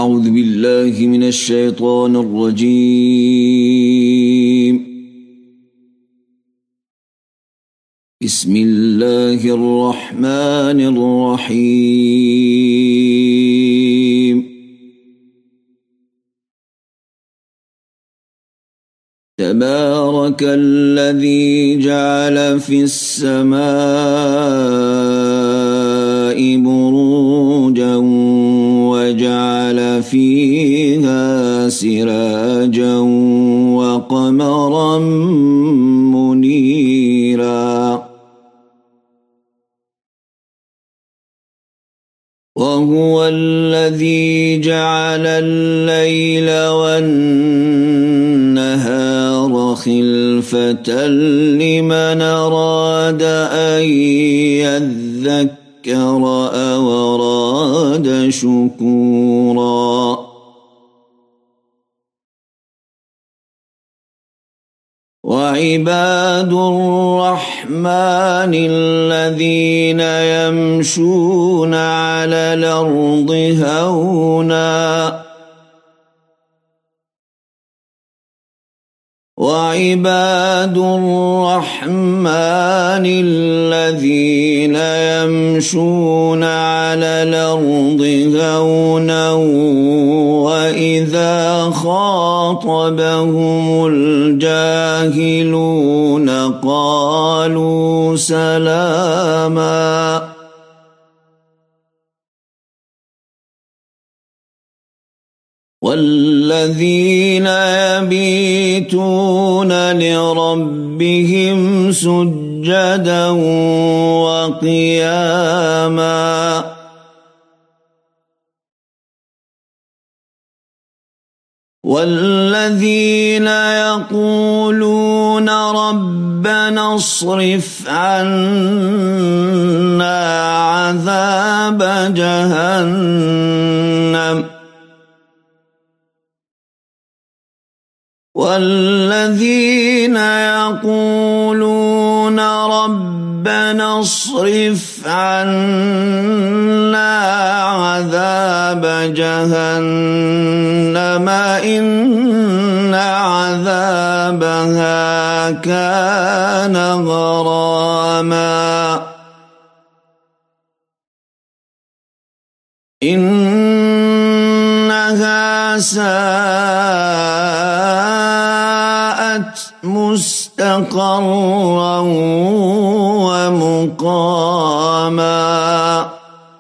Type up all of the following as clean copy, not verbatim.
أعوذ بالله من الشيطان الرجيم. بسم الله الرحمن الرحيم. تبارك الذي جعل في السماء بروجا وجعل فيها سراجا وقمرا منيرا وهو الذي جعل الليل والنهار خلفة لمن أراد أن يذكر أو أراد شكورا وعباد الرحمن الذين يمشون على الأرض هونا وعباد الرحمن الذين يمشون على الأرض هونا وإذا خاطبهم الجاهلون قالوا سلاما والذين يبيتون لربهم سجدا وقياما والذين يقولون ربنا اصرف عنا عذاب جهنم والذين يقولون ربنا اصرف عنا عذاب جهنم إن عذابها كان غراما إنها ساءت مستقرا ومقاما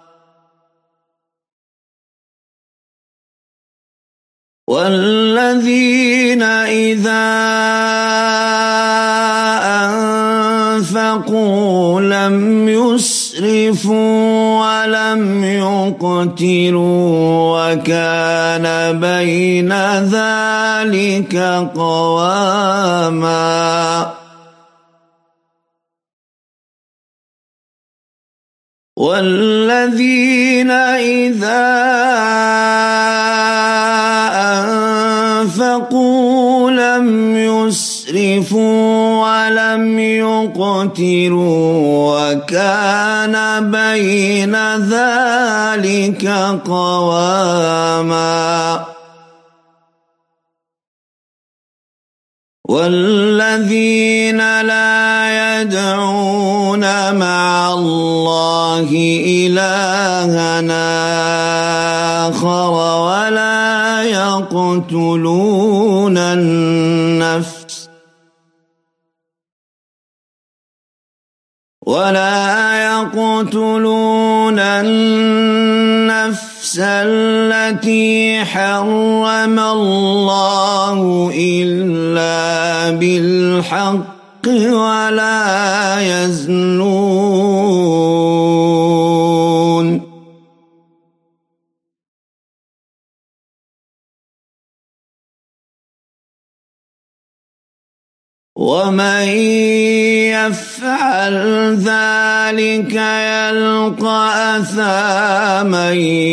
والذين إذا أنفقوا لم يسرفوا ولم يقتروا وكان بين ذلك قواما والذين إذا أنفقوا لم يسرفوا ولم يقتروا وكان بين ذلك قواما والذين لا يدعون مع الله إلها آخر ولا يقتلون النفس التي حرم الله إلا بالحق ولا يزنون ومن يفعل ذلك يلقى أثاما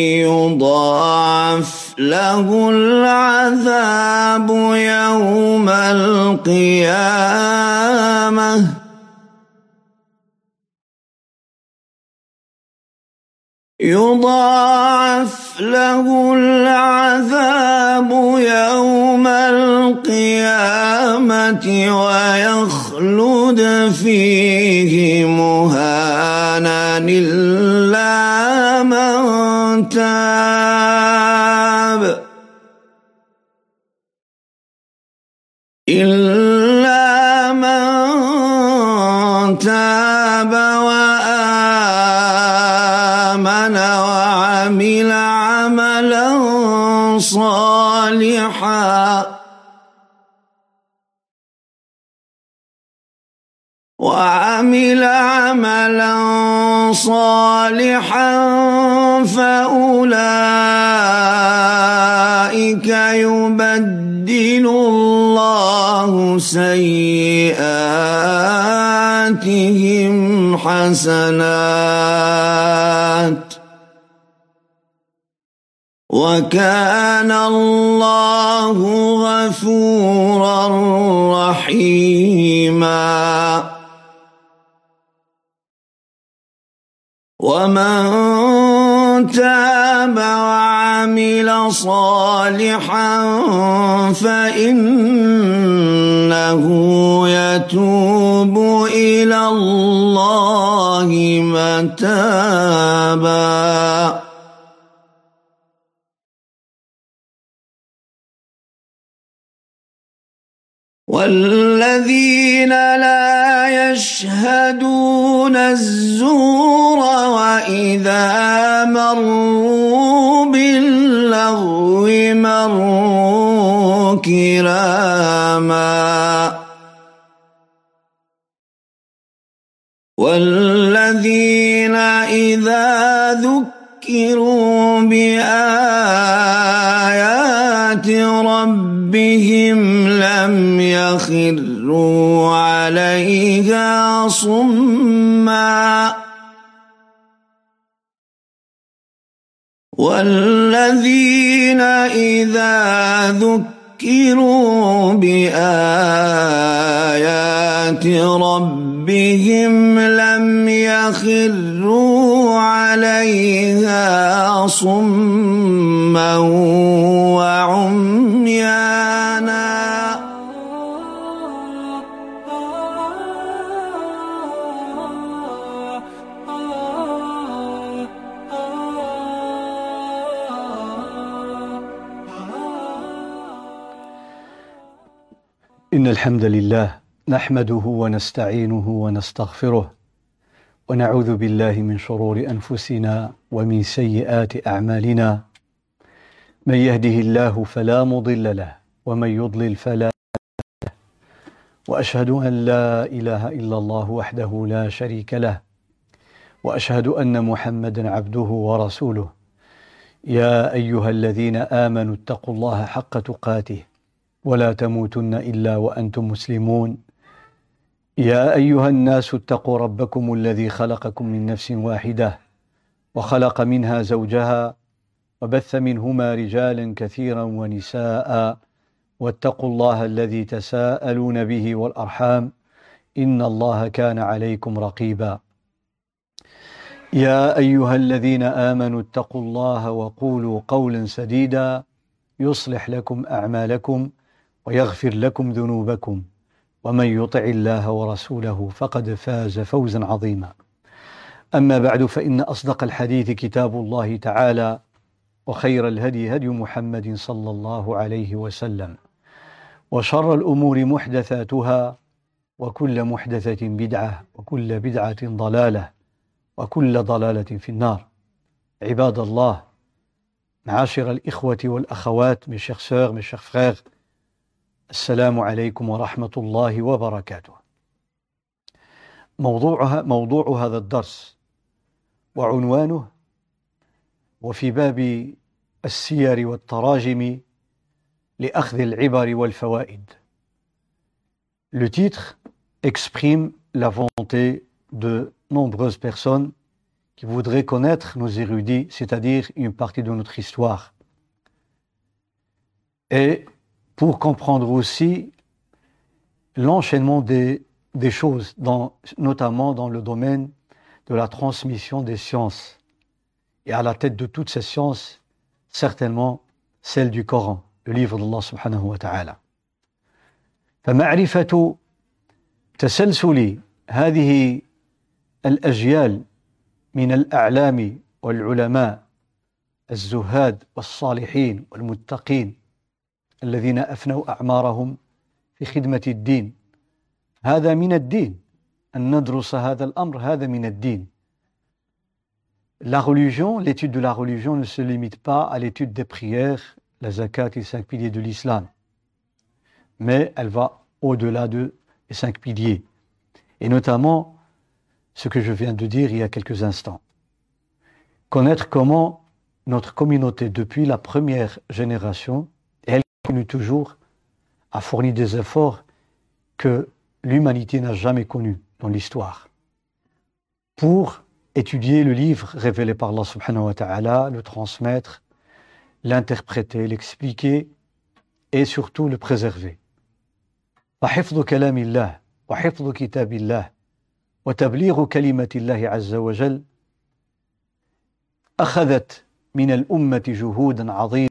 يضاعف له العذاب يوم القيامة يضاعف له العذاب يوم القيامة ويخلد فيه مهانا إلا من تاب وآمن وعمل عملا صالحا فأولئك يبدل الله سيئاتهم حسنات وكان الله غفورا رحيما ومن تاب وعمل صالحا فإنه يتوب إلى الله متابا والذين لا يشهدون الزور وإذا مروا باللغو مروا كراما والذين إذا ذكروا بآيات ربهم لم يخروا عليها صما والذين إذا ذكروا بآيات ربهم لم يخروا عليها صما وعميانا إن الحمد لله نحمده ونستعينه ونستغفره ونعوذ بالله من شرور أنفسنا ومن سيئات أعمالنا من يهده الله فلا مضل له ومن يضلل فلا هادي له وأشهد أن لا إله إلا الله وحده لا شريك له وأشهد أن محمدا عبده ورسوله يا أيها الذين آمنوا اتقوا الله حق تقاته ولا تموتن إلا وأنتم مسلمون يا أيها الناس اتقوا ربكم الذي خلقكم من نفس واحدة وخلق منها زوجها وبث منهما رجالا كثيرا ونساء واتقوا الله الذي تساءلون به والأرحام إن الله كان عليكم رقيبا يا أيها الذين آمنوا اتقوا الله وقولوا قولا سديدا يصلح لكم أعمالكم ويغفر لكم ذنوبكم ومن يطع الله ورسوله فقد فاز فوزا عظيما أما بعد فإن أصدق الحديث كتاب الله تعالى وخير الهدي هدي محمد صلى الله عليه وسلم وشر الأمور محدثاتها وكل محدثة بدعة وكل بدعة ضلالة وكل ضلالة في النار عباد الله معاشر الإخوة والأخوات mes chers sœurs, mes chers frères السلام عليكم ورحمة الله وبركاته موضوع هذا الدرس وعنوانه وفي باب السير والتراجم لأخذ العبر والفوائد. Le titre exprime la volonté de nombreuses personnes qui voudraient connaître nos érudits, c'est-à-dire une partie de notre histoire. Et pour comprendre aussi l'enchaînement des choses, notamment dans le domaine de la transmission des sciences Et à la tête de toutes ces sciences, certainement celle du Coran, le livre d'Allah subhanahu wa ta'ala. فمعرفة تسلسل هذه الأجيال من الأعلام والعلماء الزهاد والصالحين والمتقين الذين أفنوا أعمارهم في خدمة الدين هذا من الدين. أن ندرس هذا الأمر هذا من الدين. La religion, l'étude de la religion ne se limite pas à l'étude des prières, la zakat et les 5 piliers de l'islam, mais elle va au-delà des 5 piliers, et notamment ce que je viens de dire il y a quelques instants. Connaître comment notre communauté, depuis la première génération, et elle continue toujours, a fourni des efforts que l'humanité n'a jamais connus dans l'histoire, pour étudier le livre révélé par Allah subhanahu wa ta'ala, le transmettre, l'interpréter, l'expliquer et surtout le préserver. فحفظ كلام الله وحفظ كتاب الله وتبليغ كلمة الله عز وجل أخذت من الأمة جهودا عظيمة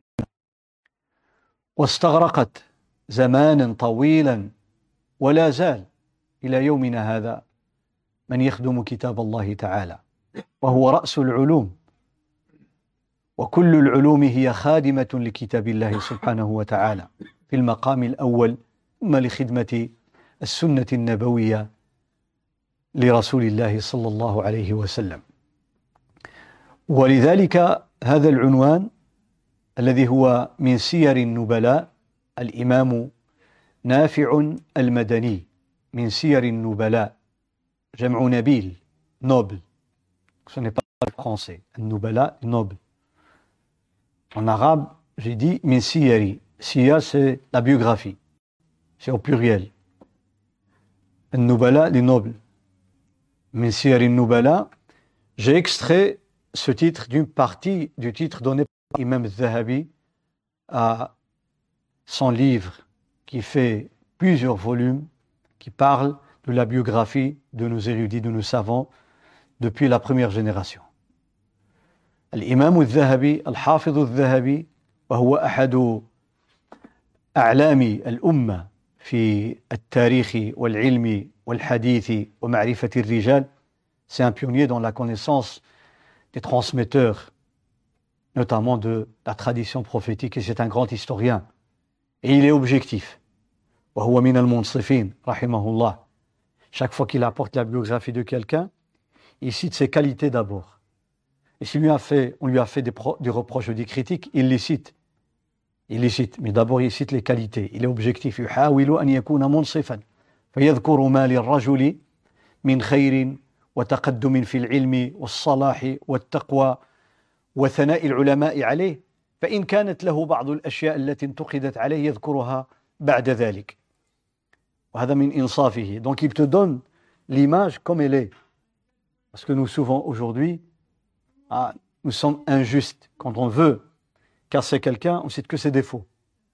واستغرقت زمانا طويلا ولا زال إلى يومنا هذا من يخدم كتاب الله تعالى وهو رأس العلوم وكل العلوم هي خادمة لكتاب الله سبحانه وتعالى في المقام الأول ثم لخدمة السنة النبوية لرسول الله صلى الله عليه وسلم. ولذلك هذا العنوان الذي هو من سير النبلاء الإمام نافع المدني من سير النبلاء جمع نبيل noble. Ce n'est pas le français. النبلاء noble. En arabe, j'ai dit min siyari. Siyar, c'est la biographie. C'est au pluriel. An-Nubala, les nobles. Min siyari Nubala, j'ai extrait ce titre d'une partie du titre donné par l'imam al-Zahabi à son livre qui fait plusieurs volumes, qui parle de la biographie de nos érudits, de nos savants, depuis la première génération. الإمام الذهبي الحافظ الذهبي وهو أحد أعلام الأمة في التاريخ والعلم والحديث ومعرفة الرجال. C'est un pionnier dans la connaissance des transmetteurs, notamment de la tradition prophétique, et c'est un grand historien. Et il est objectif. وهو من المنصفين رحمه الله. Chaque fois qu'il apporte la biographie de quelqu'un, il cite ses qualités d'abord. Et si on lui a fait des reproches ou des critiques, il les cite. Il les cite, mais d'abord il cite les qualités. Il est objectif. يحاول أن يكون منصفا فيذكر ما للرجل من خير وتقدم في العلم والصلاح والتقوى وثناء العلماء عليه فإن كانت له بعض الأشياء التي انتقدت عليه يذكرها بعد ذلك. وهذا من إنصافه. Donc il te donne l'image comme elle est. Parce que nous souvent aujourd'hui, nous sommes injustes. Quand on veut casser quelqu'un, on ne cite que ses défauts.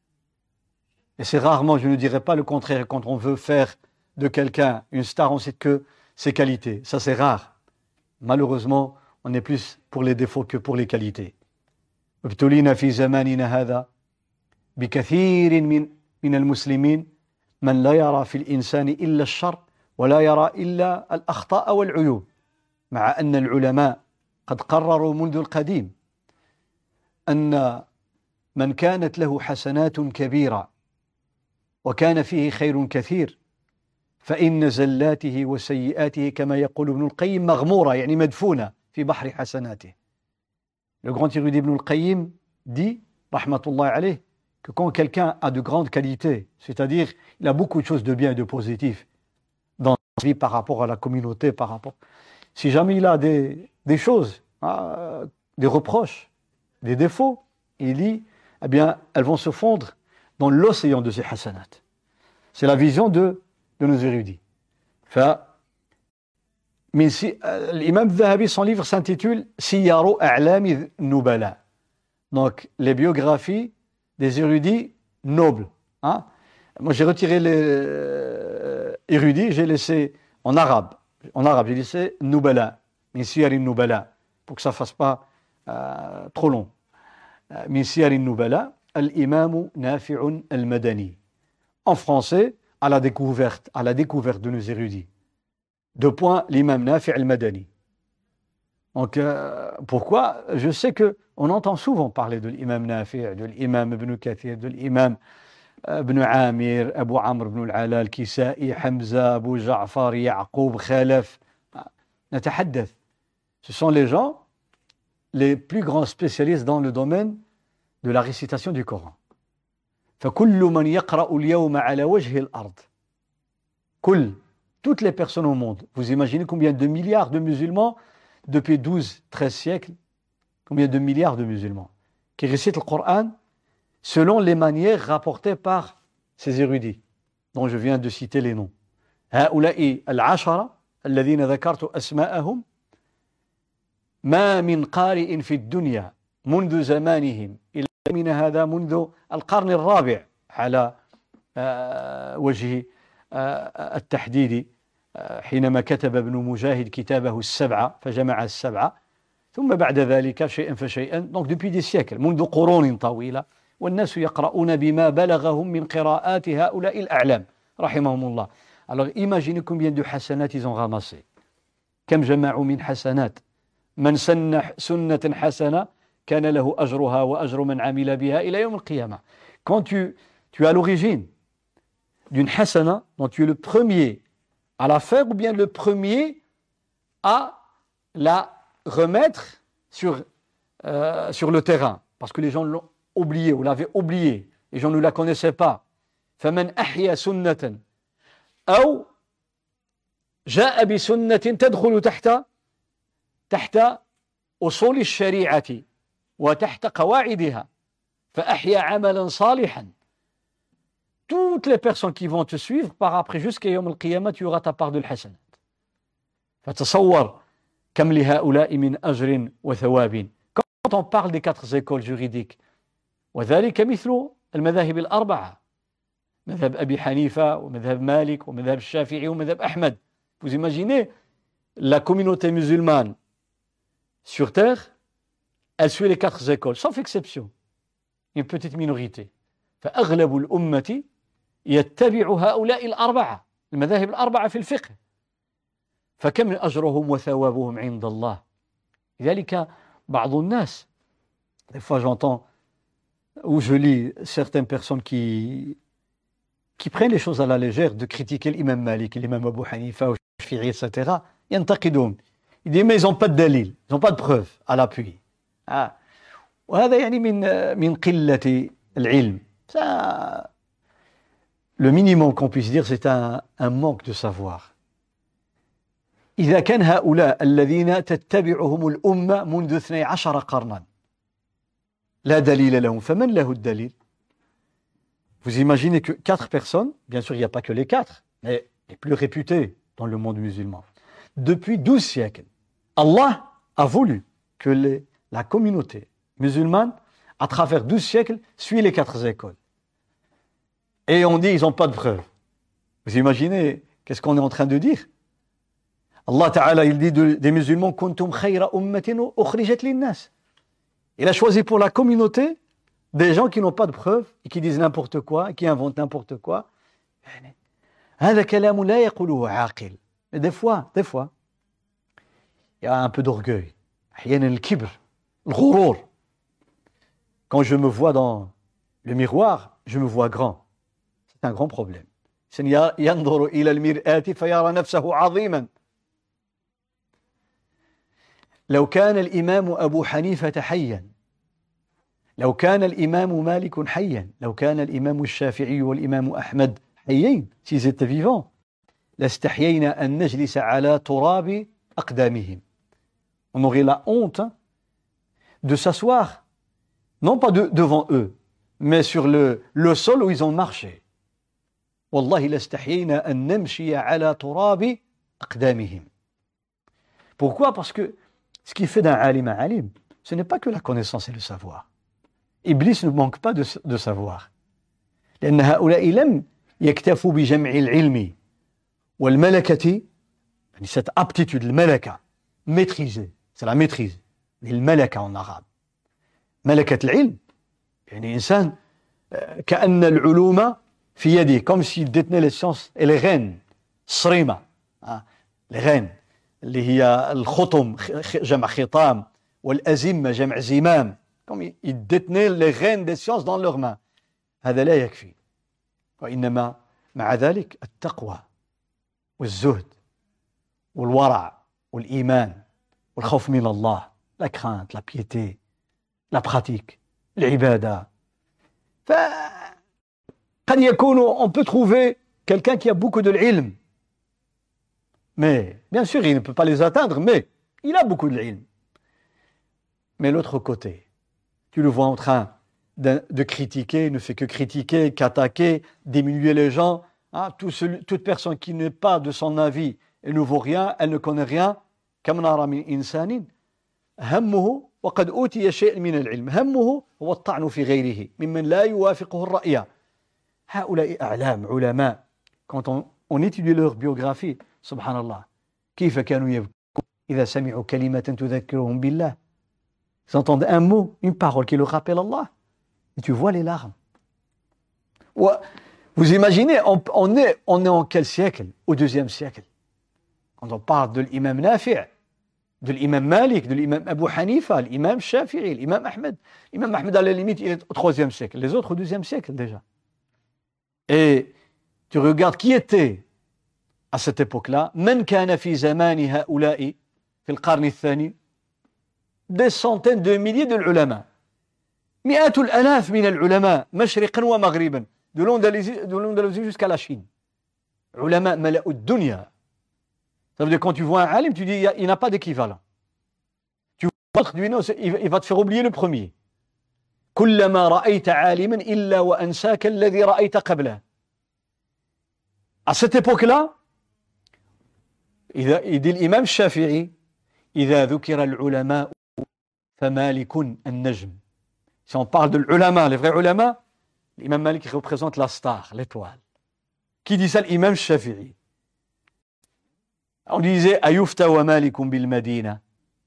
Et c'est rarement, je ne dirais pas le contraire, quand on veut faire de quelqu'un une star, on ne cite que ses qualités. Ça, c'est rare. Malheureusement, on est plus pour les défauts que pour les qualités. ابتلينا في زماننا هذا بكثير من المسلمين من لا يرى في الإنسان إلا الشر ولا يرى إلا الأخطاء والعيوب مع أن العلماء قد قرروا منذ القديم أن من كانت له حسنات كبيرة وكان فيه خير كثير فإن زلاته وسيئاته كما يقول ابن القيم مغمورة يعني مدفونة في بحر حسناته. Le grand érudit Ibn al-Qayyim dit, rahmatullah alayh, que quand quelqu'un a de grandes qualités, c'est-à-dire il a beaucoup de choses de bien et de positif dans sa vie par rapport à la communauté, si jamais il a des choses, des reproches, des défauts, il dit, eh bien, elles vont se fondre dans l'océan de ces hasanat. C'est la vision de nos érudits. L'imam Zahabi, son livre s'intitule Siyaru A'lami Nubala. Donc, les biographies des érudits nobles. Moi, j'ai retiré les érudits, j'ai laissé en arabe, j'ai laissé Nubala, min Siyari Nubala, pour que ça ne fasse pas trop long. من سير النبلاء الإمام نافع المدني. En français, à la découverte de nos érudits. 2 points, l'imam Nafi' al-Madani. Donc, pourquoi? Je sais qu'on entend souvent parler de l'imam Nafi', de l'imam Ibn Kathir, de l'imam Ibn Amir, Abu Amr ibn al-Ala, al-Kisa'i, Hamza, Abu Ja'far, Ya'qub, Khalaf. نتحدث. Ce sont les gens les plus grands spécialistes dans le domaine de la récitation du Coran. فكل من يقرأ اليوم على وجه الأرض. Toutes les personnes au monde. Vous imaginez combien de milliards de musulmans depuis 12-13 siècles, combien de milliards de musulmans qui récitent le Coran selon les manières rapportées par ces érudits dont je viens de citer les noms. هؤلاء العشرة الذين ذكرت أسماءهم ما من قارئ في الدنيا منذ زمانهم إلى من هذا منذ القرن الرابع على وجه التحديد حينما كتب ابن مجاهد كتابه السبعة فجمع السبعة ثم بعد ذلك شيئا فشيئا donc depuis des siècles منذ قرون طويلة والناس يقرؤون بما بلغهم من قراءات هؤلاء الأعلام رحمهم الله. Alors imaginez combien de hasanat ils ont ramassé. كم جمعوا من حسنات من سن سنة حسنة كان له أجرها وأجر من عمل بها إلى يوم القيامة. Quand tu es à l'origine d'une hasana, donc tu es le premier à la faire ou bien le premier à la remettre sur le terrain parce que les gens l'ont oublié ou l'avaient oublié, les gens ne la connaissaient pas. فمن أحيا سنة أو جاء بسنة تدخل تحت أصول الشريعة وتحت قواعدها فأحيا عملا صالحا. Toutes les personnes qui vont te suivre par après jusqu'à يوم القيامة tu auras ta part de الحسنات. فتصور كم لهؤلاء من أجر وثواب. Quand on parle des 4 écoles juridiques وذلك مثل المذاهب الأربعة مذهب أبي حنيفة ومذهب مالك ومذهب الشافعي ومذهب أحمد. Vous imaginez la communauté musulmane sur terre, elle suit les 4 écoles sauf exception, une petite minorité. فأغلب الأمة يتبع هؤلاء الأربعة المذاهب الأربعة في الفقه فكم أجرهم وثوابهم عند الله. لذلك بعض الناس des fois j'entends ou je lis certaines personnes qui prennent les choses à la légère de critiquer l'imam Malik, l'imam Abu Hanifa, Shafi'i, etc. ينتقدون. Ils disent mais ils n'ont pas de dalil, ils n'ont pas de preuve à l'appui. وهذا يعني من قلة العلم. Ça, le minimum qu'on puisse dire c'est un manque de savoir. إذا كان هؤلاء الذين تتبعهم الأمة منذ 12 قرنا لا دليل لهم فمن له الدليل. Vous imaginez que 4 personnes, bien sûr il n'y a pas que les 4, mais les plus réputés dans le monde musulman, depuis 12 siècles, Allah a voulu que la communauté musulmane, à travers 12 siècles, suit les 4 écoles. Et on dit ils n'ont pas de preuves. Vous imaginez qu'est-ce qu'on est en train de dire? Allah Ta'ala, il dit des musulmans kuntum khayra ummatin ukhrijat lin-nas. Il a choisi pour la communauté des gens qui n'ont pas de preuves et qui disent n'importe quoi, qui inventent n'importe quoi. هذا كلام لا يقوله عاقل. Mais des fois, il y a un peu d'orgueil. أحيانا الكبر, الغرور. Quand je me vois dans le miroir, je me vois grand. C'est un grand problème. ينظر إلى المرآة فيرى نفسه عظيما. لو كان الإمام أبو حنيفة حيا، لو كان الإمام مالك حيا، لو كان الإمام الشافعي والإمام أحمد حيين s'ils étaient vivants لاستحيينا أن نجلس على تراب أقدامهم. On aurait la honte de s'asseoir non pas devant eux mais sur le sol où ils ont marché. والله لاستحيينا أن نمشي على تراب أقدامهم. Pourquoi? Parce que ce qui fait d'un alim un alim, ce n'est pas que la connaissance et le savoir. Iblis ne manque pas de savoir. لأن هؤلاء لم يكتفوا بجمع العلم والملكة، يعني cette aptitude, الملكة, maîtriser, c'est la maîtrise. الملكة en arabe. ملكة العلم يعني إنسان كأن العلوم في يده comme s'il détenait les sciences et les rênes الصريمة les rênes اللي هي الخطم جمع خطام والأزمة جمع زمام comme il détenait les rênes des sciences dans leurs mains. هذا لا يكفي وإنما مع ذلك التقوى والزهد والورع والإيمان والخوف من الله la crainte, la piété, la pratique, l'ibada. قد يكون on peut trouver quelqu'un qui a beaucoup de l'ilm. Mais, bien sûr, il ne peut pas les atteindre, mais il a beaucoup de l'ilm. Mais l'autre côté, tu le vois en train de critiquer, il ne fait que critiquer, qu'attaquer, diminuer les gens. Toute personne qui n'est pas de son avis, elle ne vaut rien, elle ne connaît rien. كم نرى من إنسان همه وقد أوتي شيء من العلم همه هو الطعن في غيره ممن لا يوافقه الرأي. هؤلاء أعلام علماء quand on étudie leur biographie سبحان الله كيف كانوا يبكون إذا سمعوا كلمة تذكرهم بالله. Ils entendent un mot, une parole qui leur rappelle Allah. Et tu vois les larmes. Vous imaginez, on est en quel siècle? Au deuxième siècle. Quand on parle de l'imam Nafi', de l'imam Malik, de l'imam Abu Hanifa, l'imam Shafi'i, l'imam Ahmed. L'imam Ahmed, à la limite, il est au troisième siècle. Les autres au deuxième siècle déjà. Et tu regardes qui était à cette époque-là. من كان في زمان هؤلاء في القرن الثاني. Des centaines de milliers de ulama. مئات الآلاف من العلماء مشرقا ومغربا. De l'Andalousie jusqu'à la Chine. Ulama ملأوا الدنيا. Ça veut dire quand tu vois un alim, tu dis il n'a pas d'équivalent. Tu vois l'autre, tu dis non, il va te faire oublier le premier. كلما رأيت عالما إلا وأنساك الذي رأيت قبله. À cette époque-là, il dit l'imam Shafi'i إذا ذكر العلماء فمالك النجم. Si on parle de l'ulama, les vrais ulama, l'imam Malik représente la star, l'étoile. Qui dit ça? L'imam Shafi'i. On disait Ayufta wa Malikum bil Madina.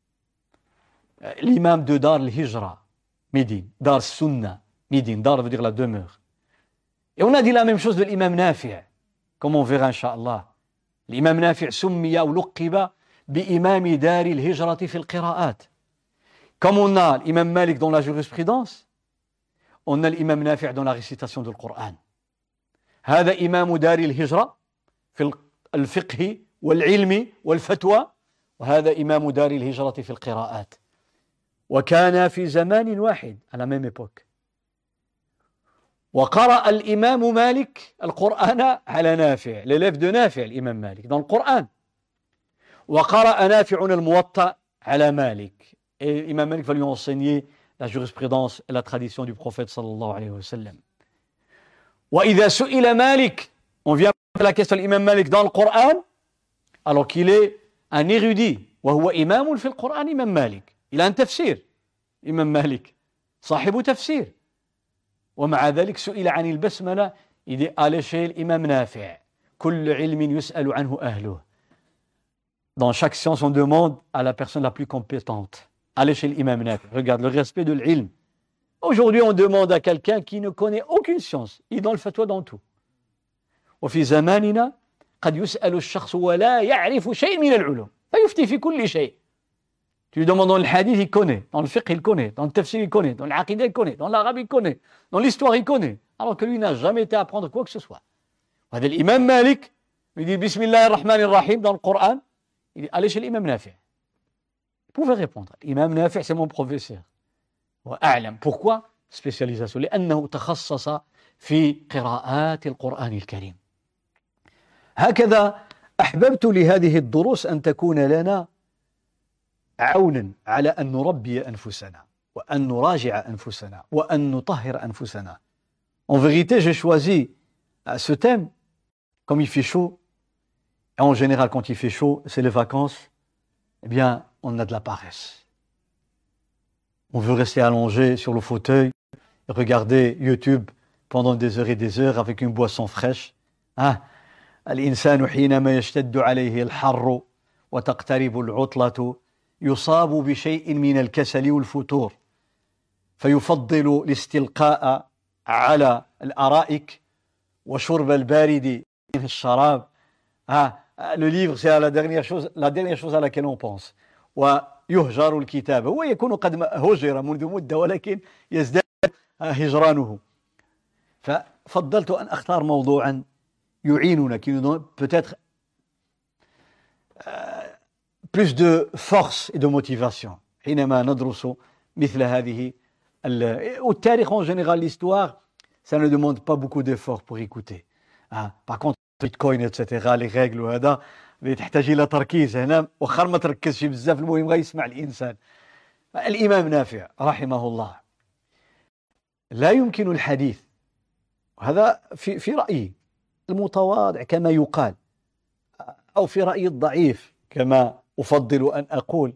L'imam de Dar al-Hijra, Médine, Dar Sunna, Médine, Dar veut dire la demeure. Et on a dit la même chose de l'imam Nafi', comme on verra Inch'Allah. L'imam Nafi' summiya ou luqiba bi imami Dar al-Hijrati fil qira'at. Comme on a l'imam Malik dans la jurisprudence, on a l'imam Nafi' dans la récitation du Coran. هذا إمام دار الهجرة في الفقه والعلم والفتوى وهذا إمام دار الهجرة في القراءات وكان في زمان واحد à la même époque وقرأ الإمام مالك القرآن على نافع l'élève de نافع الإمام مالك dans le Coran وقرأ نافع الموطأ على مالك et l'imam Malik va lui enseigner la jurisprudence et la tradition du prophète sallallahu alayhi wa sallam. وإذا سئل مالك on vient à la question de l'imam Malik dans le Coran alors qu'il est un érudit وهو إمام في القرآن إمام مالك il a un تفسير إمام مالك صاحب تفسير ومع ذلك سئل عن البسملة il dit allez chez l'imam Nafi' كل علم يسأل عنه أهله. Dans chaque science on demande à la personne la plus compétente. Allez chez l'imam Nafi'. Regarde le respect de l'ilm. Aujourd'hui on demande à quelqu'un qui ne connaît aucune science. Il est dans le fatwa dans tout. وفي زماننا قد يسأل الشخص ولا يعرف شيء من العلوم فيفتي في كل شيء. Tu lui demandes dans le hadith, il connaît. Dans le fiqh, il connaît. Dans le tafsir, il connaît. Dans l'aqidah, il connaît. Dans l'arabe, il connaît. Dans l'histoire, il connaît. Alors que lui n'a jamais été à apprendre quoi que ce soit. L'imam Malik, il dit Bismillah ar-Rahman ar-Rahim dans le Coran. Il dit allez chez l'imam Nafi'. Il pouvait répondre. L'imam Nafi', c'est mon professeur. وأعلم. Pourquoi? Spécialisation. لأنه تخصص في قراءات القرآن الكريم. هكذا أحببت لهذه الدروس أن تكون لنا عونا على أن نربي أنفسنا وأن نراجع أنفسنا وأن نطهر أنفسنا. En vérité, j'ai choisi ce thème comme il fait chaud. Et en général, quand il fait chaud, c'est les vacances. Eh bien, on a de la paresse. On veut rester allongé sur le fauteuil et regarder YouTube pendant des heures et des heures avec une boisson fraîche. الإنسان حينما يشتد عليه الحر وتقترب العطلة يصاب بشيء من الكسل والفتور فيفضل الاستلقاء على الأرائك وشرب البارد من الشراب. Le livre, c'est la dernière chose à laquelle on pense. ويهجر الكتاب. هو يكون قد هجر منذ مدة ولكن يزداد هجرانه. ففضلت أن أختار موضوعا يعيننا qui nous donne peut-être plus de force et de motivation حينما ندرس مثل هذه والتاريخ en général, l'histoire, ça ne demande pas beaucoup d'efforts pour écouter. Par contre, Bitcoin, etc., les règles وهذا تحتاج إلى تركيز. هنا وخر ما تركزش بزاف المهم غير يسمع الإنسان. الإمام نافع رحمه الله لا يمكن الحديث، وهذا في رأيي المتواضع كما يقال، أو في رأيي الضعيف كما أفضل أن أقول،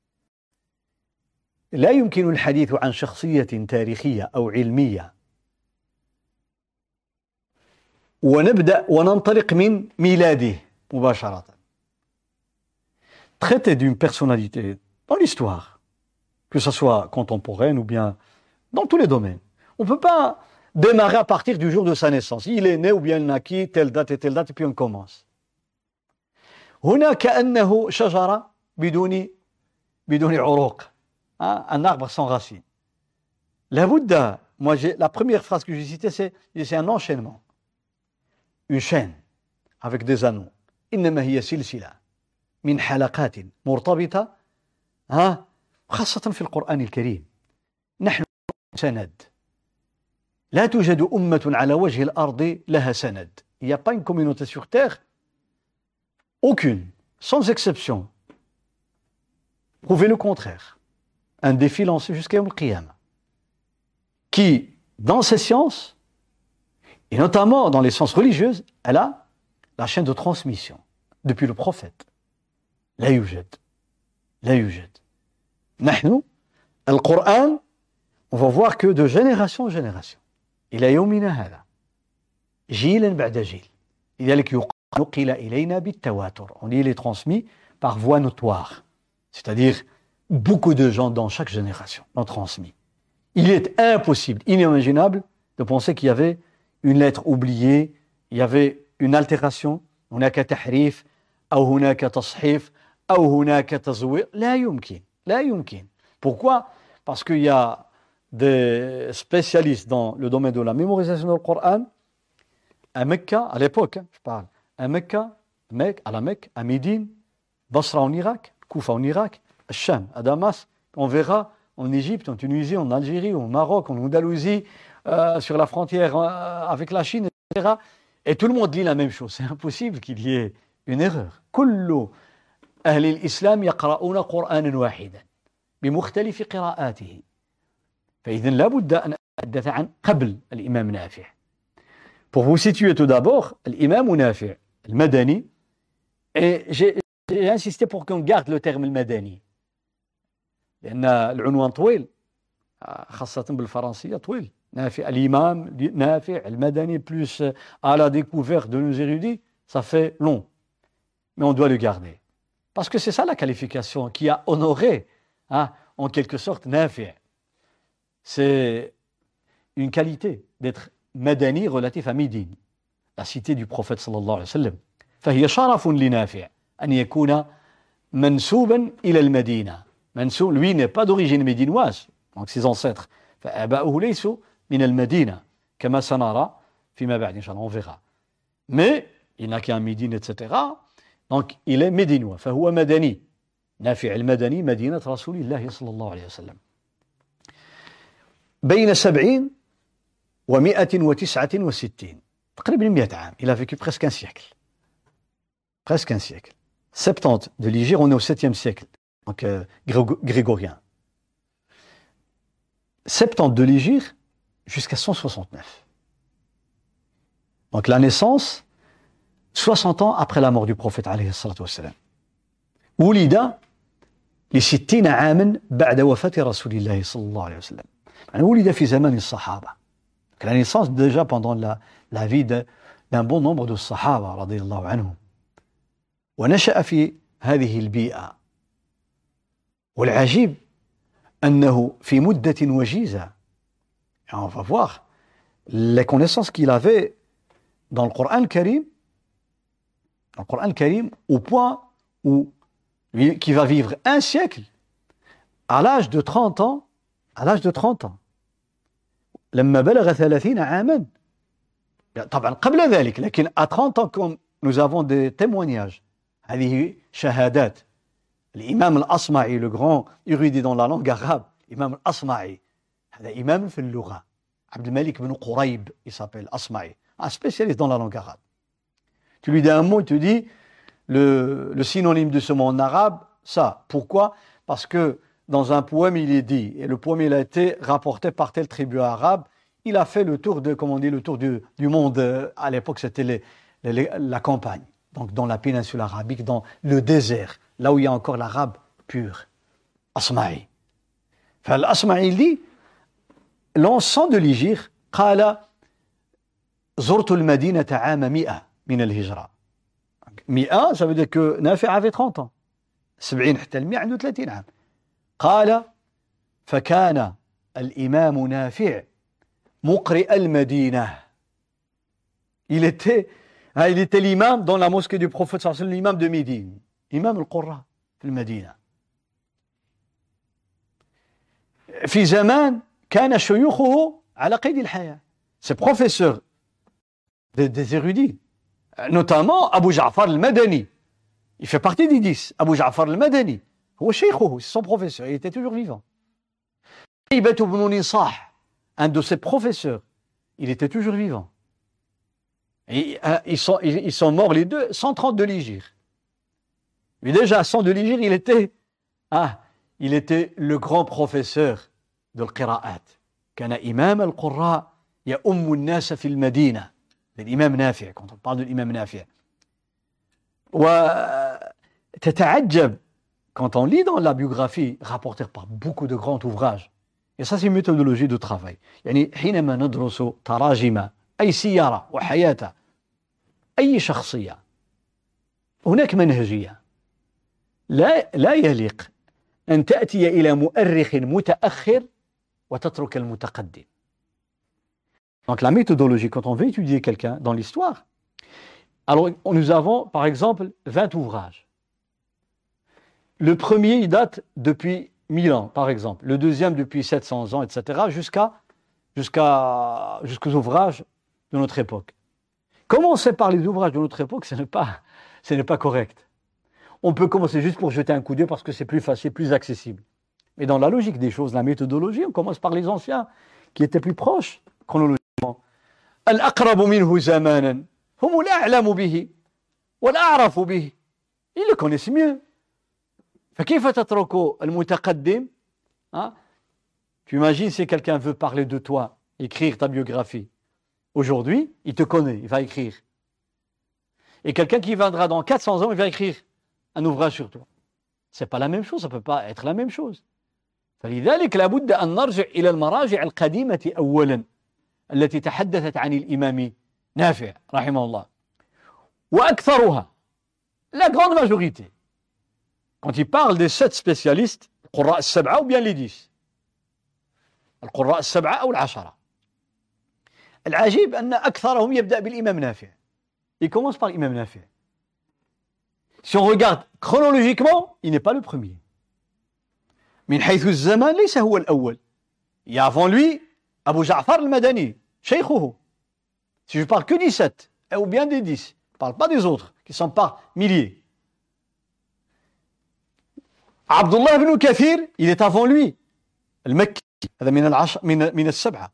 لا يمكن الحديث عن شخصية تاريخية أو علمية ونبدأ وننطلق من ميلاده مباشرة. Traiter d'une personnalité dans l'histoire, que ce soit contemporaine ou bien dans tous les domaines. On ne peut pas démarrer à partir du jour de sa naissance. Il est né ou bien il naquit, telle date, et puis on commence. هنا كأنه شجرة بدون عروق. Un arbre sans racines. La première phrase que j'ai citée, c'est un enchaînement. Une chaîne avec des anneaux. إنما هي سلسلة من حلقات مرتبطة خاصة في القرآن الكريم. نحن سند. لا توجد أمة على وجه الأرض لها سند. Il n'y a pas une communauté sur terre, aucune, sans exception. Prouvez le contraire. Un défi lancé jusqu'à Yawm al-Qiyamah, qui, dans ces sciences, et notamment dans les sciences religieuses, elle a la chaîne de transmission depuis le prophète. لا يوجد. نحن القرآن, on va voir que de génération en génération, إلى يومنا هذا, جيلا بعد جيل, لذلك نقل إلينا بالتواتر. On les transmis par voie notoire, c'est-à-dire beaucoup de gens dans chaque génération l'ont transmis. Il est impossible, inimaginable de penser qu'il y avait une lettre oubliée, il y avait une altération, هناك تحريف أو هناك تصحيف أو هناك تزوير. لا يمكن. Pourquoi? Parce qu'il y a des spécialistes dans le domaine de la mémorisation du Coran à Mecca, à l'époque, je parle, à Mecca, à la Mecque, à Médine, Basra en Irak, Koufa en Irak, Cham, à Damas, on verra en Égypte, en Tunisie, en Algérie, au Maroc, en Andalousie, sur la frontière avec la Chine, etc. Et tout le monde lit la même chose. C'est impossible qu'il y ait une erreur. كل أهل الإسلام يقرؤون قرآنا واحدا بمختلف قراءاته. فإذن لا بد أن أتحدث عن قبل الإمام نافع. Pour vous situer tout d'abord, l'imam نافع المدني, et j'ai insisté pour qu'on garde le terme المدني. لأن العنوان طويل, خاصة بالفرنسية طويل. نافع, l'imam نافع المدني plus à la découverte de nos érudits, ça fait long. Mais on doit le garder. Parce que c'est ça la qualification qui a honoré, en quelque sorte, Nafi'. C'est une qualité d'être madani relatif à Médine, la cité du prophète sallallahu alayhi wa sallam. فهي شرف لنافع أن يكون منسوبا إلى المدينة. منسوب, lui n'est pas d'origine médinoise, donc ses ancêtres. فآباؤه ليسوا من المدينة كما سنرى فيما بعد إن شاء الله, on verra. Mais il n'a qu'un Médine, etc. Donc il est médinois. فهو مدني. نافع المدني مدينة رسول الله صلى الله عليه وسلم. بين 70 و169 تقريبا 100 عام. Il a vécu presque un siècle. Presque un siècle. 70 de l'Hégire, on est au 7e siècle, donc grégorien. 70 de l'Hégire jusqu'à 169. Donc la naissance, 60 ans après la mort du prophète عليه الصلاة والسلام. ولد ل60 عاما بعد وفاة رسول الله صلى الله عليه وسلم. يعني ولد في زمان الصحابة. La naissance déjà pendant la vie d'un bon nombre de Sahaba رضي الله عنهم. ونشأ في هذه البيئة والعجيب أنه في مدة وجيزة. Et on va voir les connaissances qu'il avait dans le Coran Karim, au point où qui va vivre un siècle à l'âge de 30 ans, لما بلغ 30 عاما. طبعا قبل ذلك، لكن à 30 ans, comme nous avons des témoignages, هذه شهادات. الإمام الأصمعي, le grand érudit dans la langue arabe, Imam al-Asma'i, هذا إمام في اللغة. عبد الملك بن قريب, il s'appelle Asma'i, un spécialiste dans la langue arabe. Tu lui dis un mot, il te dit le synonyme de ce mot en arabe, ça. Pourquoi? Parce que dans un poème, il est dit, et le poème il a été rapporté par telle tribu arabe, il a fait le tour de, comment on dit, le tour du monde. À l'époque, c'était la campagne, donc dans la péninsule arabique, dans le désert, là où il y a encore l'arabe pur. Asma'i. Enfin, l'Asma'i, il dit, l'encens de l'Hégire, قال زرت المدينة عام 100 من الهجرة. 100, ça veut dire que Nafi avait 30 ans. 70 حتى ال 100 عنده 30 عام. قال فكان الإمام نافع مقرئ المدينة. Il était l'imam dans la mosquée du prophète sallallahu alayhi wa sallam, l'imam de Médine, imam al-Qurra في المدينة. في زمان كان شيوخه على قيد الحياة. Ses professeurs, des érudits, notamment Abu Ja'far al-Madani. Il fait partie des 10. Abu Ja'far al-Madani. هو شيخه, c'est son professeur, il était toujours vivant. Ibn Nisah, un de ses professeurs, il était toujours vivant. Et, ils sont morts les deux, 130 de l'Hégire. Mais déjà, à 100 de l'Hégire, il était le grand professeur de l'Qira'at. كان إمام القراء يؤم الناس في المدينة. الإمام نافع, quand on parle de l'imam نافع. وتتعجب quand on lit dans la biographie rapportée par beaucoup de grands ouvrages. Et ça, c'est une méthodologie de travail. يعني حينما ندرس تراجم أي سيارة وحياة أي شخصية هناك منهجية. لا يليق أن تأتي إلى مؤرخ متأخر وتترك المتقدم. Donc la méthodologie, quand on veut étudier quelqu'un dans l'histoire, alors nous avons par exemple 20 ouvrages. Le premier, il date depuis 1000 ans, par exemple. Le deuxième, depuis 700 ans, etc., jusqu'aux ouvrages de notre époque. Commencer par les ouvrages de notre époque, ce n'est pas correct. On peut commencer juste pour jeter un coup d'œil parce que c'est plus facile, plus accessible. Mais dans la logique des choses, la méthodologie, on commence par les anciens, qui étaient plus proches, chronologiquement. Al-aqrabu minhu zamanan, hum al-a'lamu bihi, wal-a'rafu bihi. Ils le connaissent mieux. فكيف تترك المتقدم? Tu imagines si quelqu'un veut parler de toi, écrire ta biographie. Aujourd'hui, il te connaît, il va écrire. Et quelqu'un qui viendra dans 400 ans, il va écrire un ouvrage sur toi. C'est pas la même chose, ça peut pas être la même chose. فلذلك لابد أن نرجع إلى المراجع القديمة أولا التي تحدثت عن الإمام نافع رحمه الله. وأكثرها, la grande majorité, quand il parle des 7 spécialistes, القراء السبعة ou bien les 10. القراء السبعة أو العشرة. العجيب أن أكثرهم يبدأ بالإمام نافع. Il commence par l'imam Nafi'. Si on regarde chronologiquement, il n'est pas le premier. من حيث الزمان ليس هو الأول. Il y a avant lui Abu Ja'far al-Madani, شيخه. Si je parle que des 7, ou bien des 10, je ne parle pas des autres, qui sont par milliers. Abdullah ibn Kathir, il est avant lui. Al-Makki, هذا من السبعة.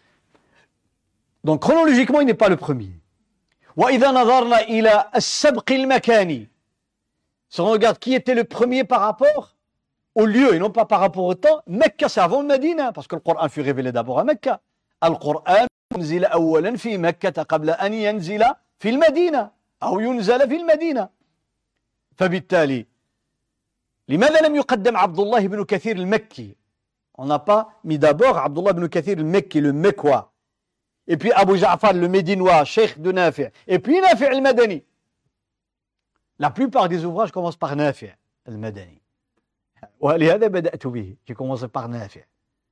Donc chronologiquement, il n'est pas le premier. وإذا نظرنا إلى السبق المكاني, si on regarde qui était le premier par rapport au lieu et non pas par rapport au temps, Mecca c'est avant le Médina, parce que le Coran fut révélé d'abord à Mecca. القرآن ينزل أولا في مكة قبل أن ينزل في المدينة أو ينزل في المدينة. فبالتالي لماذا لم يقدم عبد الله بن كثير المكي? On n'a pas mis d'abord Abdullah ibn Kathir al-Makki, le Mekwa, et puis Abu Ja'far le Médinois, cheikh de Nafi', et puis Nafi' al-Madani. La plupart des ouvrages commencent par Nafi' al-Madani. ولهذا بدأت به. J'ai commencé par نافع.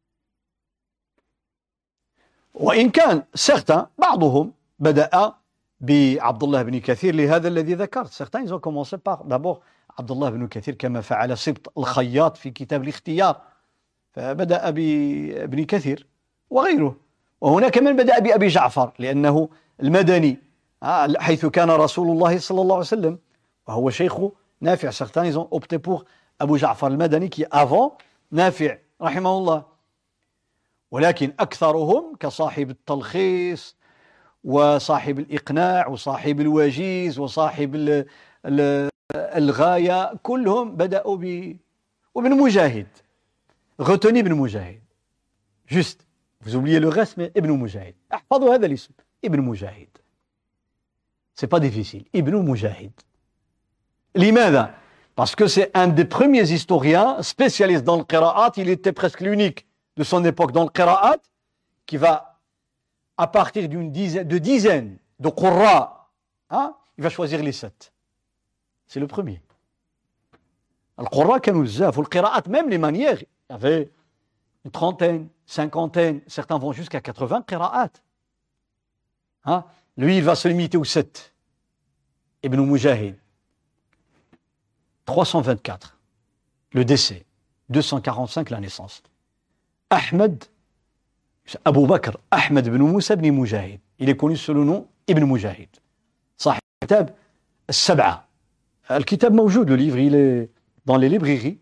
وإن كان certains بعضهم بدأ بعبد الله بن كثير لهذا الذي ذكرت. Certains ils ont commencé par d'abord عبد الله بن كثير كما فعل سبط الخياط في كتاب الاختيار، فبدأ بابن كثير وغيره. وهناك من بدأ بأبي جعفر لأنه المدني حيث كان رسول الله صلى الله عليه وسلم وهو شيخ نافع. Certains ils ont opté pour أبو جعفر المدني qui avant نافع رحمه الله. ولكن أكثرهم كصاحب التلخيص وصاحب الإقناع وصاحب الوجيز وصاحب الغاية كلهم بدأوا وابن مجاهد. Retenez ابن مجاهد. Juste. Vous oubliez le reste, mais Ibn Mujahid. احفظوا هذا الاسم. Ibn Mujahid. C'est pas difficile. Ibn Mujahid. لماذا? Parce que c'est un des premiers historiens spécialistes dans le qira'at. Il était presque l'unique de son époque dans le qira'at qui va, à partir d'une dizaine de qurra, il va choisir les 7. C'est le premier. القراء كانوا بزاف والقراءات même les manières. Il y avait une trentaine, cinquantaine, certains vont jusqu'à 80 qira'at. Lui, il va se limiter aux 7. Ibn Mujahid. 324, le décès. 245, la naissance. Ahmed, Abu Bakr, Ahmed ibn Moussa ibn Mujahid. Il est connu sous le nom Ibn Mujahid. صاحب الكتاب السبعة. الكتاب موجود, le livre, il est dans les librairies.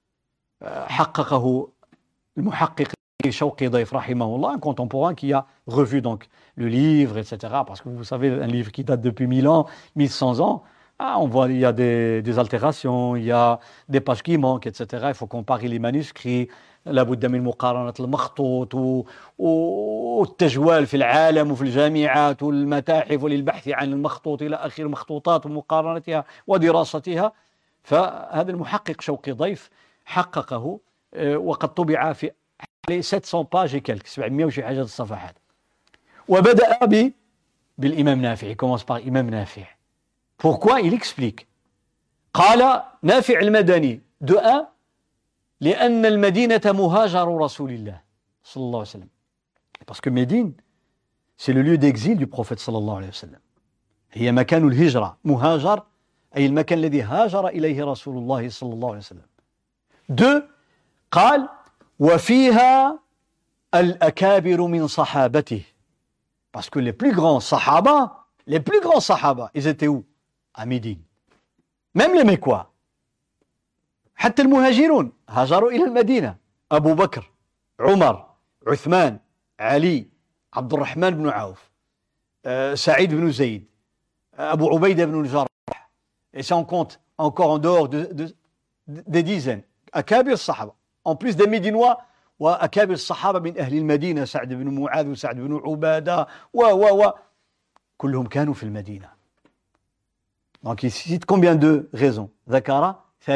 حققه المحقق شوقي ضيف رحمه الله, un contemporain qui a revu donc le livre, etc. Parce que vous savez, un livre qui date depuis 1000 ans, 1100 ans, on voit il y a des altérations, il y a des pages qui manquent, etc. Il faut comparer les manuscrits. لابد من مقارنة المخطوط والتجوال في العالم وفي الجامعات والمتاحف وللبحث عن المخطوط إلى آخر المخطوطات ومقارنتها ودراستها. فهذا المحقق شوقي ضيف حققه وقد طبع في حوالي 700 باج كالك 700 وشي حاجة الصفحات. وبدأ بالإمام نافع. Il commence par إمام نافع. Pourquoi? Il explique. قال نافع المدني de 1 لأن المدينة مهاجر رسول الله صلى الله عليه وسلم. Parce que Médine, c'est le lieu d'exil du prophète صلى الله عليه وسلم. هي مكان الهجرة. مهاجر أي المكان الذي هاجر إليه رسول الله صلى الله عليه وسلم. 2 قال وفيها الأكابر من صحابته. Parce que les plus grands sahaba, ils étaient où? À Médine. Même les Mécois. حتى المهاجرون هاجروا إلى المدينة. أبو بكر، عمر، عثمان، علي، عبد الرحمن بن عوف، سعيد بن زيد، أبو عبيدة بن الجراح. Et ça on compte encore en dehors des dizaines. أكابر الصحابة. En plus des Médinois وأكابر الصحابة من أهل المدينة سعد بن معاذ وسعد بن عبادة كلهم كانوا في المدينة. Donc il cite combien de raisons? ذكر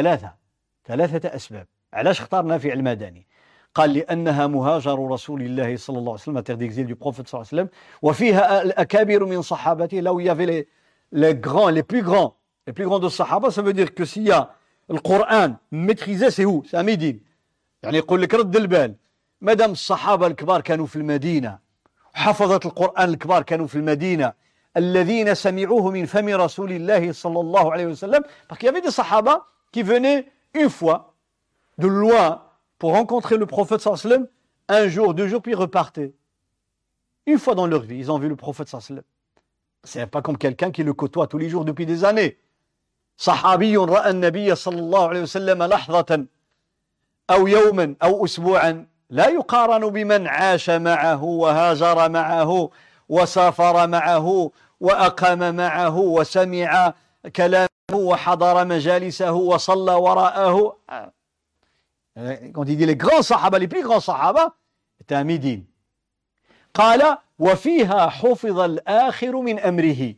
3 أسباب. علاش اختار نافع المدني؟ قال لأنها مهاجر رسول الله صلى الله عليه وسلم, terre d'exil du prophète صلى الله عليه وسلم, وفيها الأكابر من صحابته. Là où il y avait les grands, les plus grands de Sahaba, ça veut dire que s'il y a le Coran maîtrisé, c'est où? C'est à Médine. يعني يقول لك رد البال, مادام الصحابة الكبار كانوا في المدينة, حفظة القرآن الكبار كانوا في المدينة, الذين سمعوه من فم رسول الله صلى الله عليه وسلم. Parce qu'il y avait des Sahaba qui venaient une fois de loin pour rencontrer le prophète sallallahu alayhi wa sallam, un jour, 2 jours, puis repartaient. Une fois dans leur vie, ils ont vu le prophète sallallahu alayhi wa sallam. C'est pas comme quelqu'un qui le côtoie tous les jours depuis des années. صحابي رأى النبي صلى الله عليه وسلم لحظة أو يوما أو أسبوعا لا يقارن بمن عاش معه وهاجر معه وسافر معه وأقام معه وسمع كلامه وحضر مجالسه وصلى وراءه. Quand il dit les grands sahaba, les plus grands sahaba, c'était à Médine. قال وفيها حفظ الآخر من أمره.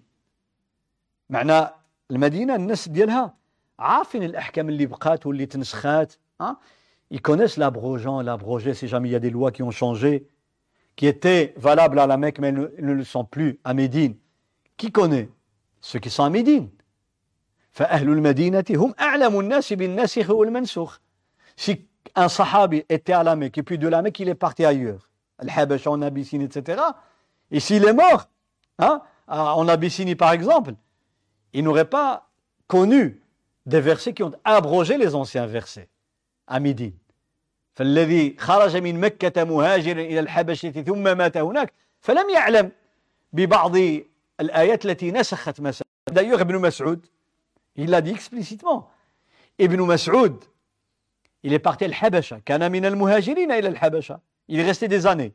معنى المدينة الناس ديالها عارفين الأحكام اللي بقات واللي تنسخات. Ils connaissent l'abrogé si jamais il y a des lois qui ont changé, qui étaient valables à la Mecque mais ne le sont plus à Médine. Qui connaît? Ceux qui sont à Médine. فأهل المدينة هم أعلم الناس بالناسخ والمنسوخ. Si un sahabi était à la Mecque, et puis de la Mecque, il est parti ailleurs, Al-Habasha, en Abyssinie, etc. Et s'il est mort, en Abyssinie par exemple, il n'aurait pas connu des versets qui ont abrogé les anciens versets à Médine. فالذي خرج من مكة مهاجرا إلى الحبشة ثم مات هناك فلم يعلم ببعض الآيات التي نسخت مثلا. D'ailleurs, Ibn Mas'ud, il l'a dit explicitement. Ibn Mas'ud, il est parti à Al-Habasha. كان من المهاجرين إلى الحبشة. Il est resté des années.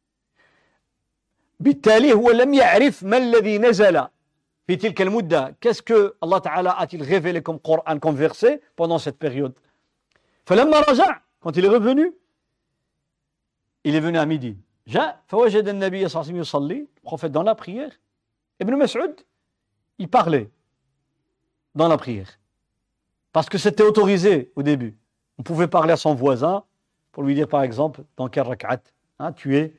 بالتالي هو لم يعرف ما الذي نزل في تلك المدة. Qu'est-ce que Allah Ta'ala a-t-il révélé comme Coran, comme verset pendant cette période? فلما رجع, quand il est revenu, il est venu à midi. جاء فوجد النبي صلى الله عليه وسلم يصلي, le prophète dans la prière. Ibn Mas'ud, il parlait dans la prière. Parce que c'était autorisé au début. On pouvait parler à son voisin pour lui dire par exemple dans quel rak'at tu es.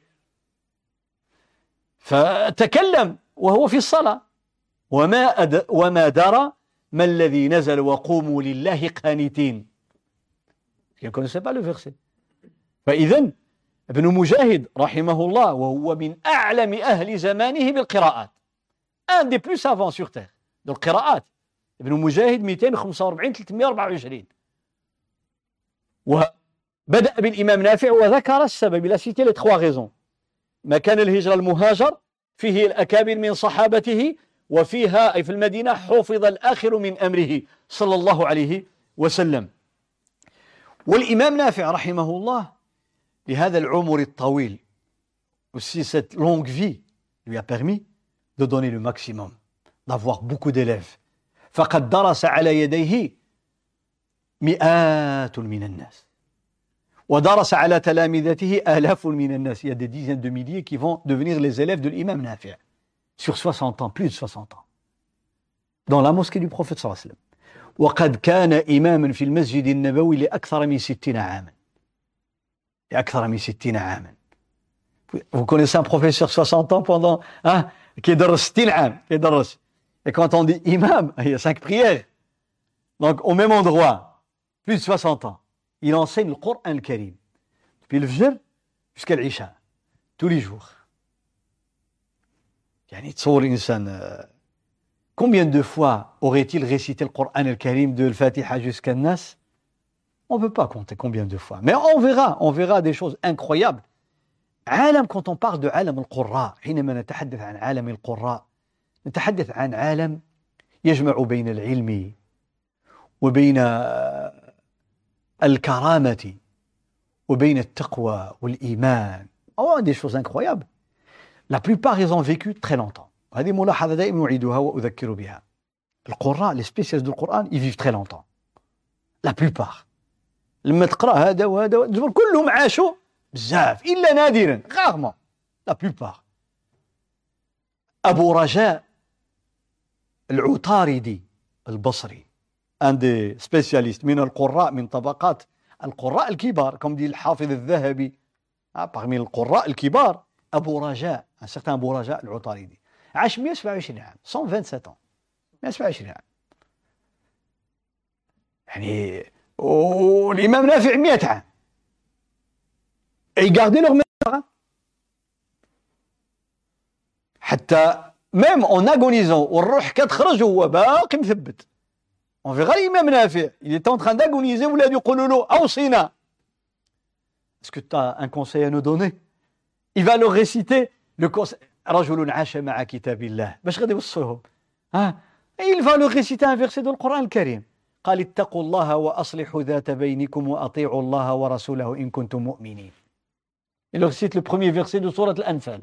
فتكلم وهو في الصلاة وما درى ما الذي نزل وقوموا لله قانتين. Il ne connaissait pas le verset. فإذن ابن مجاهد رحمه الله وهو من أعلم أهل زمانه بالقراءات. Un des plus savants sur terre de القراءات. ابن مجاهد 245 324. وبدأ بالإمام نافع وذكر السبب. Il a cité les trois raisons. مكان الهجرة المهاجر فيه الأكابر من صحابته وفيها أي في المدينة حفظ الآخر من أمره صلى الله عليه وسلم. والإمام نافع رحمه الله لهذا العمر الطويل aussi cette longue vie lui a permis de donner le maximum, d'avoir beaucoup d'élèves. فقد درس على يديه مئات من الناس ودرس على تلامذته آلاف من الناس. Il y a des dizaines de milliers qui vont devenir les élèves de l'imam Nafi' sur 60 ans, plus de 60 ans, dans la mosquée du prophète صلى الله عليه وسلم. وقد كان إماما في المسجد النبوي لأكثر من 60 عاما. لأكثر من 60 عاما. Vous connaissez un professeur 60 ans pendant qui يدرس 60 عام يدرس. Et quand on dit imam, il y a 5 prières. Donc au même endroit, plus de 60 ans. Il enseigne le Coran al-Karim. Depuis le Fajr jusqu'à l'Isha. Tous les jours. يعني تصور الإنسان combien de fois aurait-il récité le Coran al-Karim de al-Fatiha jusqu'à Nas? On ne peut pas compter combien de fois. Mais on verra des choses incroyables. عالم, quand on parle de عالم القراء, حينما نتحدث عن عالم القراء, نتحدث عن عالم يجمع بين العلم وبين الكرامة وبين التقوى والإيمان. Oh, des choses incroyables. La plupart, ils ont vécu très longtemps. هذه ملاحظة دائما أعيدها وأذكر بها. القراء, les spécialistes du Coran, ils vivent très longtemps. La plupart. لما تقرأ هذا وهذا كلهم عاشوا بزاف إلا نادرا rarement. La plupart. أبو رجاء العطاردي البصري, un des spécialistes من القراء من طبقات القراء الكبار, comme dit الحافظ الذهبي, parmi القراء الكبار, أبو رجاء, un certain أبو رجاء العطاردي, عاش 127 عام, 127 ans, 127 عام. يعني والإمام نافع 100 عام. Et ils gardaient leur mémoire. حتى même en agonisant, والروح كتخرج وهو باقي مثبت. On verra l'imam Nafi', il est en train d'agoniser, ولاد يقولوا له أوصينا. Est-ce que tu as un conseil à nous donner? Il va leur réciter le conseil. رجل عاش مع كتاب الله. باش غادي يوصلهم. Il va leur réciter un verset du Coran al-Karim. قال اتقوا الله وأصلحوا ذات بينكم وأطيعوا الله ورسوله إن كنتم مؤمنين. Il leur cite le premier verset de Sourate Al-Anfal.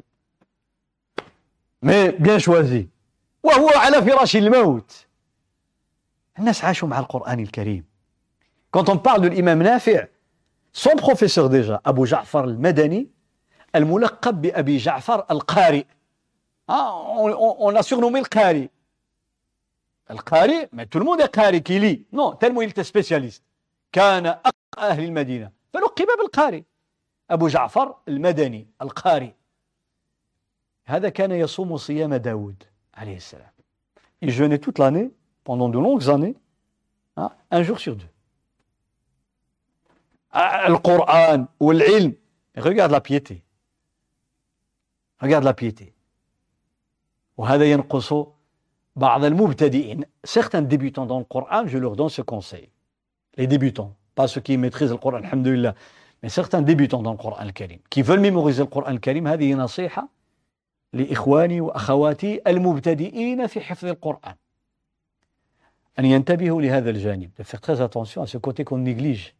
Mais bien choisi. وهو على فراش الموت. الناس عاشوا مع القرآن الكريم. Quand on parle de l'imam Nafi', son professeur déjà, Abu Ja'far al-Madani, الملقب بأبي جعفر القارئ. On l'a surnommé le Qari. القارئ, mais tout le monde est قارئ qui lit. Non, tellement il était spécialiste. كان أقرأ أهل المدينة. فلقب بالقارئ. أبو جعفر المدني القارئ. هذا كان يصوم صيام داود عليه السلام. Il jeûnait toute l'année, pendant de longues années, un jour sur deux. le Coran ou l'ilm. Regarde la piété. Regarde la piété. وهذا ينقص بعض المبتدئين. Certains débutants dans le Coran, je leur donne ce conseil. Les débutants, pas ceux qui maîtrisent le Coran, alhamdoulilah, mais certains débutants dans le Coran al-Karim, qui veulent mémoriser le Coran al-Karim, هذه نصيحة لإخواني وأخواتي المبتدئين في حفظ القرآن. أن ينتبهوا لهذا الجانب, de faire très attention à ce côté qu'on néglige.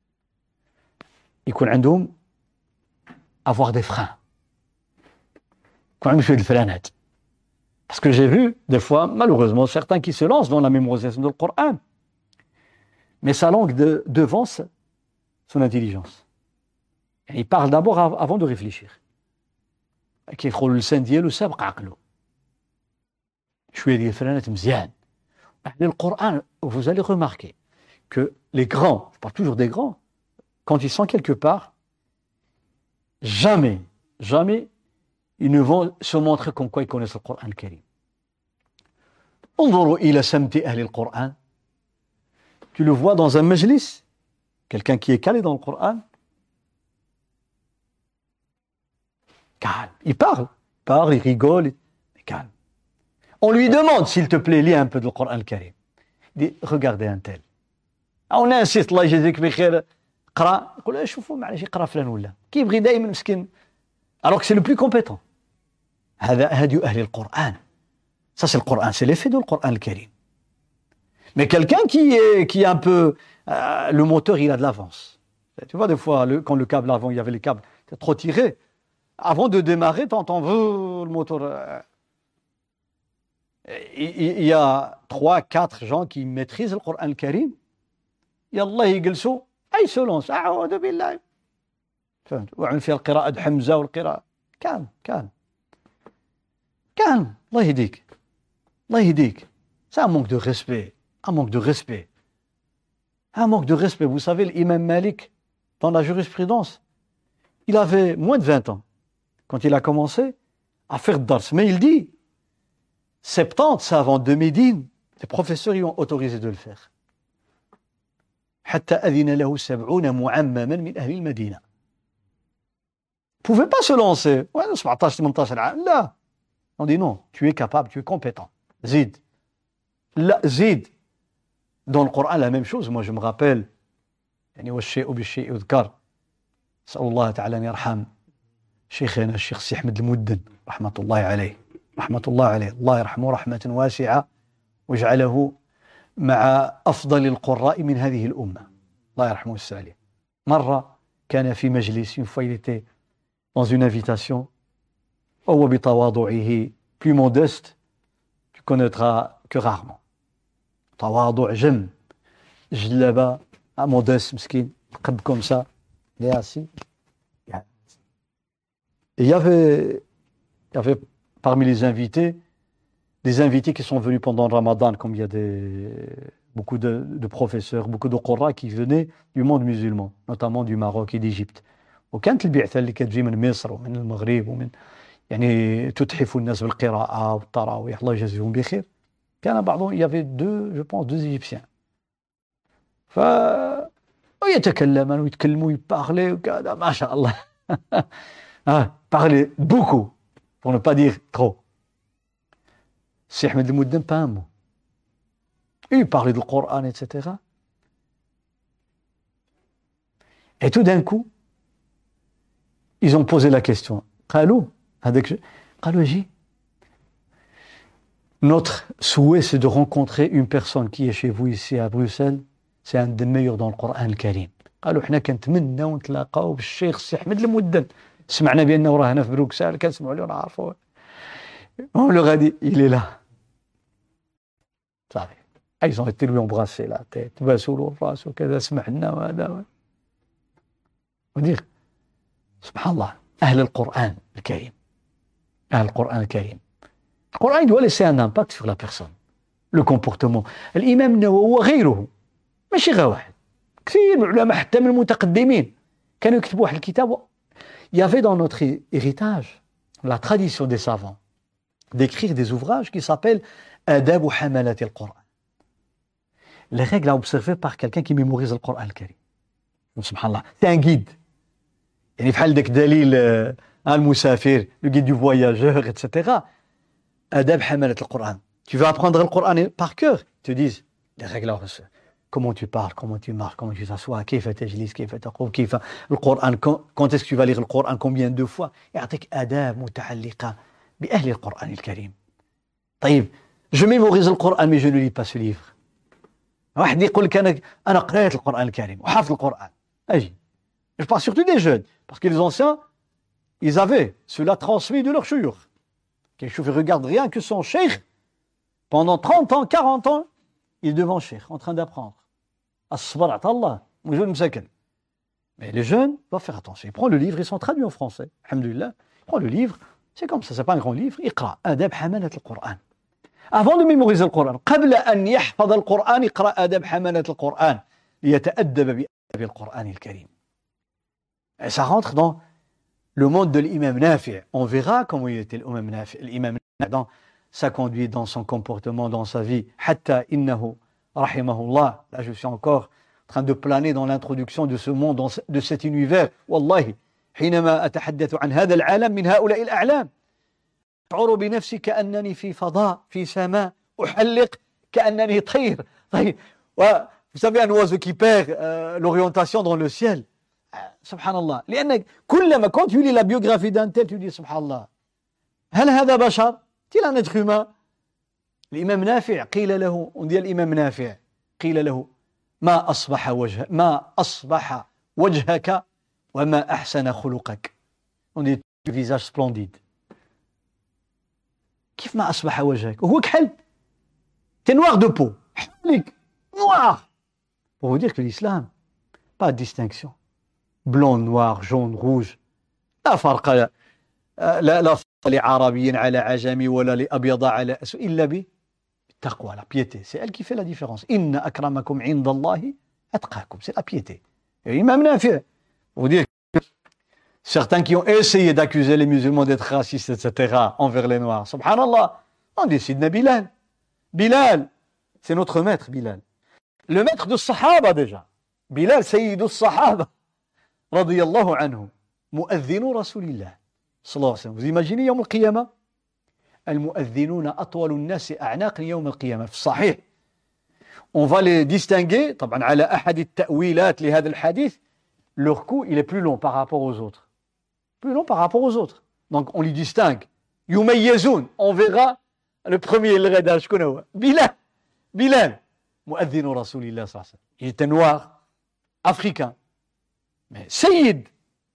يكون عندهم avoir des freins. يكون عندهم شوية الفرانات. Parce que j'ai vu, des fois, malheureusement, certains qui se lancent dans la mémorisation du Coran, mais sa langue devance son intelligence. Et il parle d'abord avant de réfléchir. كيدخل اللسان ديالو سابق عقله. شوية ديال الفرانات مزيان. Le Coran, vous allez remarquer que les grands, je parle toujours des grands, quand ils sont quelque part, jamais, ils ne vont se montrer comme quoi ils connaissent le Coran al-Karim. انظروا إلى سمت أهل القرآن. Tu le vois dans un majlis, quelqu'un qui est calé dans le Coran, calme, il parle, il rigole, mais calme. On lui demande, s'il te plaît, lis un peu du Coran al-Karim. Il dit, regardez un tel. On insiste, الله يجزيك بخير, قرأ. يقول شوفوا معليش يقرأ فلان ولا. كيبغي دائما مسكين. Alors que c'est le plus compétent. هذا هدي أهل القرآن. Ça c'est le Coran, c'est l'effet du Coran al-Karim. Mais quelqu'un qui est un peu... le moteur, il a de l'avance. Tu vois, des fois, quand le câble avant, il y avait les câbles trop tirés, avant de démarrer, t'entends le moteur... il y a 3-4 gens qui maîtrisent le Coran al-Karim. يلا يجلسوا أي سولونس أعوذ بالله. فهمت؟ وعن فيها القراءة د حمزة والقراءة. calme. الله يهديك. C'est un manque de respect. Un manque de respect. Vous savez, l'imam Malik, dans la jurisprudence, il avait moins de 20 ans quand il a commencé à faire dars. Mais il dit, 70 savants de Médine, les professeurs y ont autorisé de le faire. حتى أذن له 70 معمما من أهل المدينة. Vous ne pouvez pas se lancer. Ouais, 17-18 عام. Là. On dit non, tu es capable, tu es compétent. Zid. Dans le Coran, la même chose. Moi, je me rappelle, يعني والشيء بالشيء يذكر. أسأل الله تعالى أن يرحم شيخنا الشيخ سي أحمد المدن رحمة الله عليه. الله يرحمه رحمة واسعة واجعله مع أفضل القراء من هذه الأمة. الله يرحمه السالي. مرة كان في مجلس, une fois il était dans une invitation, وهو بتواضعه plus modeste, tu connaîtras que rarement. تواضع جم, جلبة, modeste, مسكين, قد comme ça, il est assis. Et il y avait parmi les invités, des invités qui sont venus pendant le Ramadan, comme il y a beaucoup de professeurs, beaucoup de Qurra qui venaient du monde musulman, notamment du Maroc et d'Égypte. وكانت البعثة اللي كتجي من مصر ومن المغرب ومن يعني تتحف الناس بالقراءة والتراويح الله يجزيهم بخير. كان بعضهم, il y avait deux Égyptiens. ويتكلمون ويتكلموا يبارلي وكذا ما شاء الله. Parler beaucoup, pour ne pas dire trop. Si Ahmed al-Muddin, pas un mot. Il parlait du Coran, etc. Et tout d'un coup, ils ont posé la question. قالوا notre souhait, c'est de rencontrer une personne qui est chez vous ici à Bruxelles. C'est un des meilleurs dans le Coran al-Karim. قالوا احنا كنتمناو نتلاقاو بالشيخ سي أحمد المدن. سمعنا بأنه راه هنا في بروكسل, كنسمعوا له ونعرفوه. On leur a dit, il est là. صافي. Ils ont été lui embrasser la tête, باسوا له الراس وكذا, سمعنا وهذا. ودير سبحان الله, أهل القرآن الكريم. Le Coran, il doit laisser un impact sur la personne. Le comportement. الإمام النووي وغيره. ماشي غير واحد. كثير من العلماء حتى من المتقدمين كانوا يكتبوا واحد الكتاب. Il y avait dans notre héritage la tradition des savants d'écrire des ouvrages qui s'appellent Adab Hamalat al-Qur'an. Les règles à observer par quelqu'un qui mémorise le Coran al-Karim. Subhanallah. C'est un guide. يعني بحال داك دليل المسافر, le guide du voyageur, etc. Adab hamalat al-Qur'an. Tu veux apprendre le Coran par cœur. Ils te disent les règles. Comment tu parles, comment tu marches, comment tu t'assois, كيف تجلس, كيف تقوم, كيف القرآن, quand est-ce que tu vas lire le Coran, combien de fois. يعطيك آداب متعلقة بأهل القرآن الكريم. طيب, je mémorise le Coran mais je ne lis pas ce livre. واحد يقول لك أنا قرأت القرآن الكريم وحافظ القرآن. أجي. Je parle surtout des jeunes, parce que les anciens, ils avaient cela transmis de leur shuyukh. Quelque chose, regarde rien que son cheikh, pendant 30 ans, 40 ans, il est devant le cheikh, en train d'apprendre. As-sabr Allah, moujoud msakin. Mais les jeunes doivent faire attention. Ils prennent le livre, ils sont traduits en français. Alhamdulillah. Ils prennent le livre, c'est comme ça, c'est pas un grand livre. Iqra, adab hamalat al-Qur'an. Avant de mémoriser le Coran, قبل أن يحفظ القرآن اقرأ آداب حملة القرآن ليتأدب بآداب القرآن الكريم. Et ça rentre dans le monde de l'imam Nafi'. On verra comment il était l'imam Nafi' dans sa conduite, dans son comportement, dans sa vie. Hatta innahu rahimahullah. Là, je suis encore en train de planer dans l'introduction de ce monde, de cet univers. Wallahi, حينما أتحدث عن هذا العالم من هؤلاء الأعلام أشعر بنفسي كأنني في فضاء في سماء أحلق كأنني طير. طيب, vous savez, un oiseau qui perd l'orientation dans le ciel. Subhanallah. لأنك كلما quand tu lis la biographie d'un tel, tu dis Subhanallah. هل هذا بشر؟ est-il un être humain? الإمام نافع قيل له, on dit الإمام نافع قيل له ما أصبح وجهك وما أحسن خلقك. On dit le visage splendide. كيف ما أصبح وجهك؟ وهو كحل. T'es noir de peau. حالك noir. Pour vous dire que l'islam, pas de distinction. Blanc, noir, jaune, rouge. لا فرق لا لعربي على عجمي ولا لأبيض على أسود إلا بالتقوى, la piété. C'est elle qui fait la différence. إن أكرمكم عند الله أتقاكم. C'est la piété. Et Imam Nafi', vous dire que certains qui ont essayé d'accuser les musulmans d'être racistes, etc., envers les noirs, subhanallah, on décide de Bilal. Bilal, c'est notre maître, Bilal. Le maître de Sahaba déjà. Bilal, Sayyidou Sahaba. رضي الله عنه مؤذن رسول الله صلى الله عليه وسلم. Vous imaginez يوم القيامة المؤذنون أطول الناس أعناقا يوم القيامة في الصحيح. On va les distinguer طبعا على أحد التأويلات لهذا الحديث. Leur cou il est plus long par rapport aux autres. Plus long par rapport aux autres. Donc on les distingue. يميزون. On verra le premier الغداء شكون هو؟ Bilal مؤذن رسول الله صلى الله عليه وسلم. Il était noir, africain. Mais Sayyid.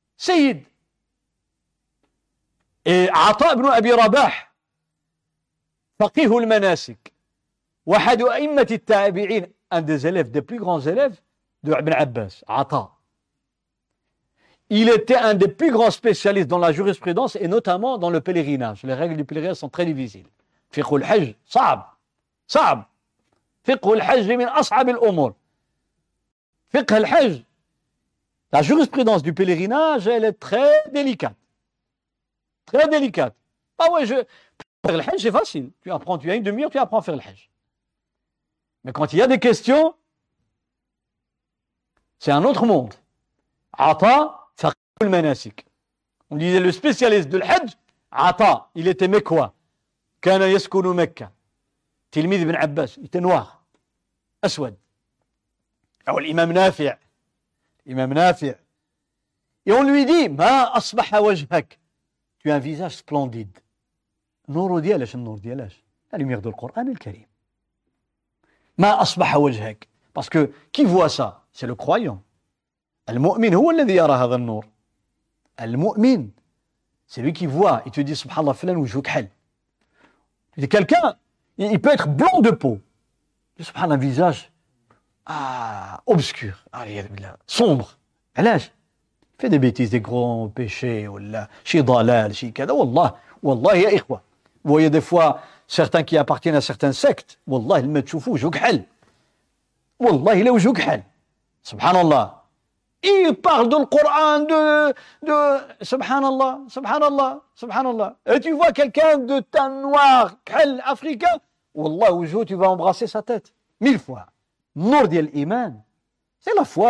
Et Ata ibn Abi Rabah, فقيه المناسك, واحد أئمة التابعين, un des élèves, des plus grands élèves de Ibn Abbas, Ata. Il était un des plus grands spécialistes dans la jurisprudence et notamment dans le pèlerinage. Les règles du pèlerinage sont très difficiles. فقه الحج صعب. فقه الحج من أصعب الأمور. فقه الحج, la jurisprudence du pèlerinage, elle est très délicate. Très délicate. Ah ouais, faire le hajj, c'est facile. Tu as une demi-heure, tu apprends à faire le hajj. Mais quand il y a des questions, c'est un autre monde. Ata, faqih al-manasik. On disait le spécialiste de l'hajj, Ata, il était mekwa. Kana yaskunu Mekka. Tilmid ibn Abbas, il était noir. Aswad. Alors l'imam Nafi'. Imam Nafi'. Et on lui dit, Ma asbaha wajhak. Tu as un visage splendide. Nour dialash, nour dialash. La lumière du Coran al-Karim. Ma asbaha wajhak. Parce que qui voit ça? C'est le croyant. Al-mu'min huwa alladhi yara hadha an-nur. Al-mu'min, c'est lui qui voit. Il te dit, subhanallah, filan wajhuk hal. Quelqu'un, il peut être blanc de peau. Subhanallah, un visage obscur, sombre. علاش fait des bêtises, des grands péchés ولا شي ضلال شي كذا. والله يا إخوة, vous voyez des fois certains qui appartiennent à certaines sectes, والله لما تشوفوا وجهك حل, والله لا وجهك حل. Subhanallah, il parle dans le Coran de subhanallah. Et tu vois quelqu'un de teint noir, حل africain, والله وجهه, tu vas embrasser sa tête 1000 fois. Nour diyal iman, c'est la foi,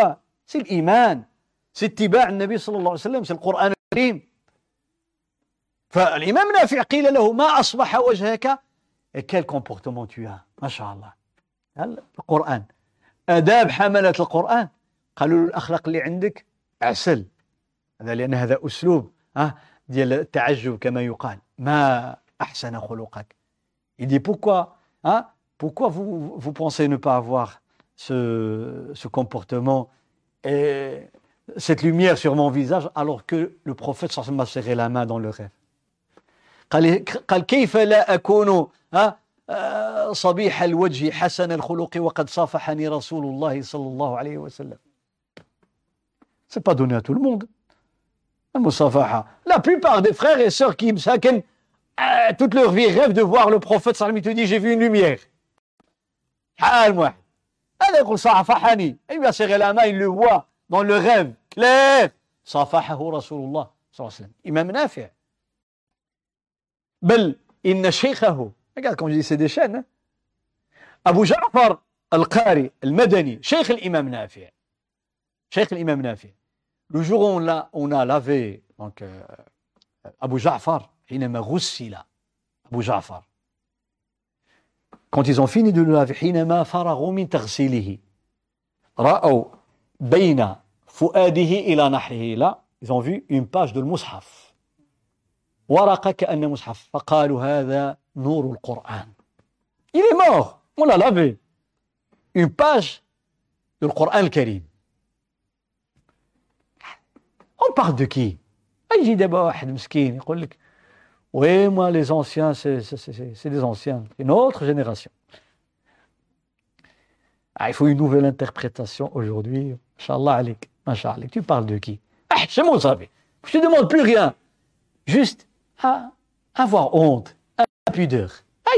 c'est l'iman, c'est اتباع النبي صلى الله عليه وسلم, c'est le Coran الكريم. فالإمام نافع قيل له ما أصبح وجهك, et quel comportement tu as, ما شاء الله. القرآن آداب حملة القرآن, قالوا له الأخلاق اللي عندك عسل, هذا لأن هذا أسلوب ديال التعجب كما يقال, ما أحسن خلقك. Il dit pourquoi vous pensez ne pas avoir ce comportement et cette lumière sur mon visage alors que le prophète sallallahu alayhi wa sallam m'a serré la main dans le rêve. قال كيف لا أكون صبيح الوجه حسن الخلق وقد صافحني رسول الله صلى الله عليه وسلم. C'est pas donné à tout le monde. La plupart des frères et sœurs qui مساكن toute leur vie rêvent de voir le prophète sallallahu alayhi wa sallam, il te dit j'ai vu une lumière. حال واحد هذا يقول صافحني, il va serrer la main, il le voit dans le rêve clair. صافحه رسول الله صلى الله عليه وسلم. إمام نافع بل إن شيخه, regarde comme je dis c'est des chaînes, أبو جعفر القاري المدني شيخ الإمام نافع, شيخ الإمام نافع. Le jour où on a lavé donc Abu Ja'far, حينما غسل Abu Ja'far, quand ils ont fini de le laver, حينما فرغوا من تغسيله رأوا بين فؤاده إلى نحره, là ils ont vu une page de المصحف, ورقة كأن مصحف, فقالوا هذا نور القرآن. Il est mort, on l'a lavé, une page de القرآن الكريم. On parle de qui? يجي دابا واحد مسكين يقول لك oui, moi les anciens c'est des anciens, une autre génération. Il faut une nouvelle interprétation aujourd'hui. Inch'Allah alik, Inch'Allah. Tu parles de qui? C'est mon savé. Je te demande plus rien, juste à avoir honte, à pudeur.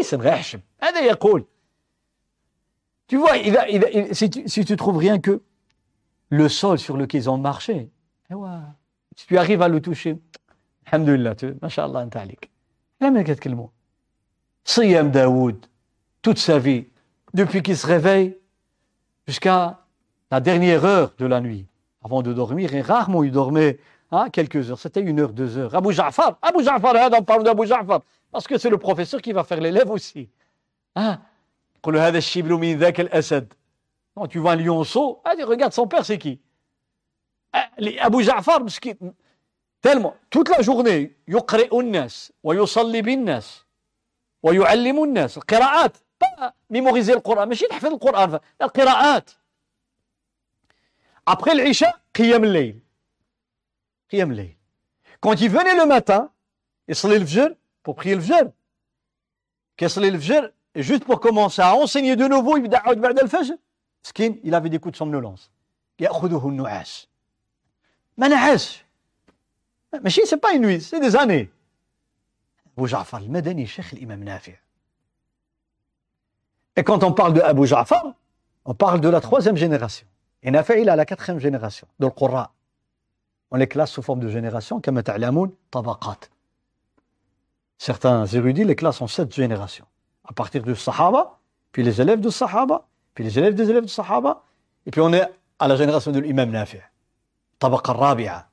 Tu vois, si tu trouves rien que le sol sur lequel ils ont marché, si tu arrives à le toucher, alhamdoulilah, Masha'Allah, anta alik. Lama katkelmou. Siyam Daoud, toute sa vie, depuis qu'il se réveille jusqu'à la dernière heure de la nuit, avant de dormir, et rarement il dormait quelques heures, c'était 1 heure, 2 heures. Abu Ja'far, on parle d'Abu Ja'far, parce que c'est le professeur qui va faire l'élève aussi. Quand tu vois un lionceau, regarde son père, c'est qui? Abu Ja'far, tellement, toute la journée, يقرئ الناس ويصلي بالناس ويعلم الناس القراءات, pas mémoriser le Coran, ماشي تحفظ القرآن, القراءات. Après l'Isha, قيام الليل. قيام الليل. Quand il venait le matin, يصلي الفجر, pour prier le fajr. كيصلي الفجر, et juste pour commencer à enseigner de nouveau, il يبدأ بعد الفجر. مسكين, il avait des coups de somnolence. يأخذه النعاس. ما نعاش. ماشي, c'est pas une nuit, c'est des années. Abu Ja'far al-Madani, Cheikh l'imam Nafi'. Et quand on parle de Abu Ja'far, on parle de la 3e génération. Et Nafi' il a la 4e génération, de l'Qurra. On les classe sous forme de génération, comme ta'lamoun, tabaqat. Certains érudits les classent en 7 générations. À partir du Sahaba, puis les élèves du Sahaba, puis les élèves des élèves du Sahaba, et puis on est à la génération de l'imam Nafi'. Tabaqa rabi'a.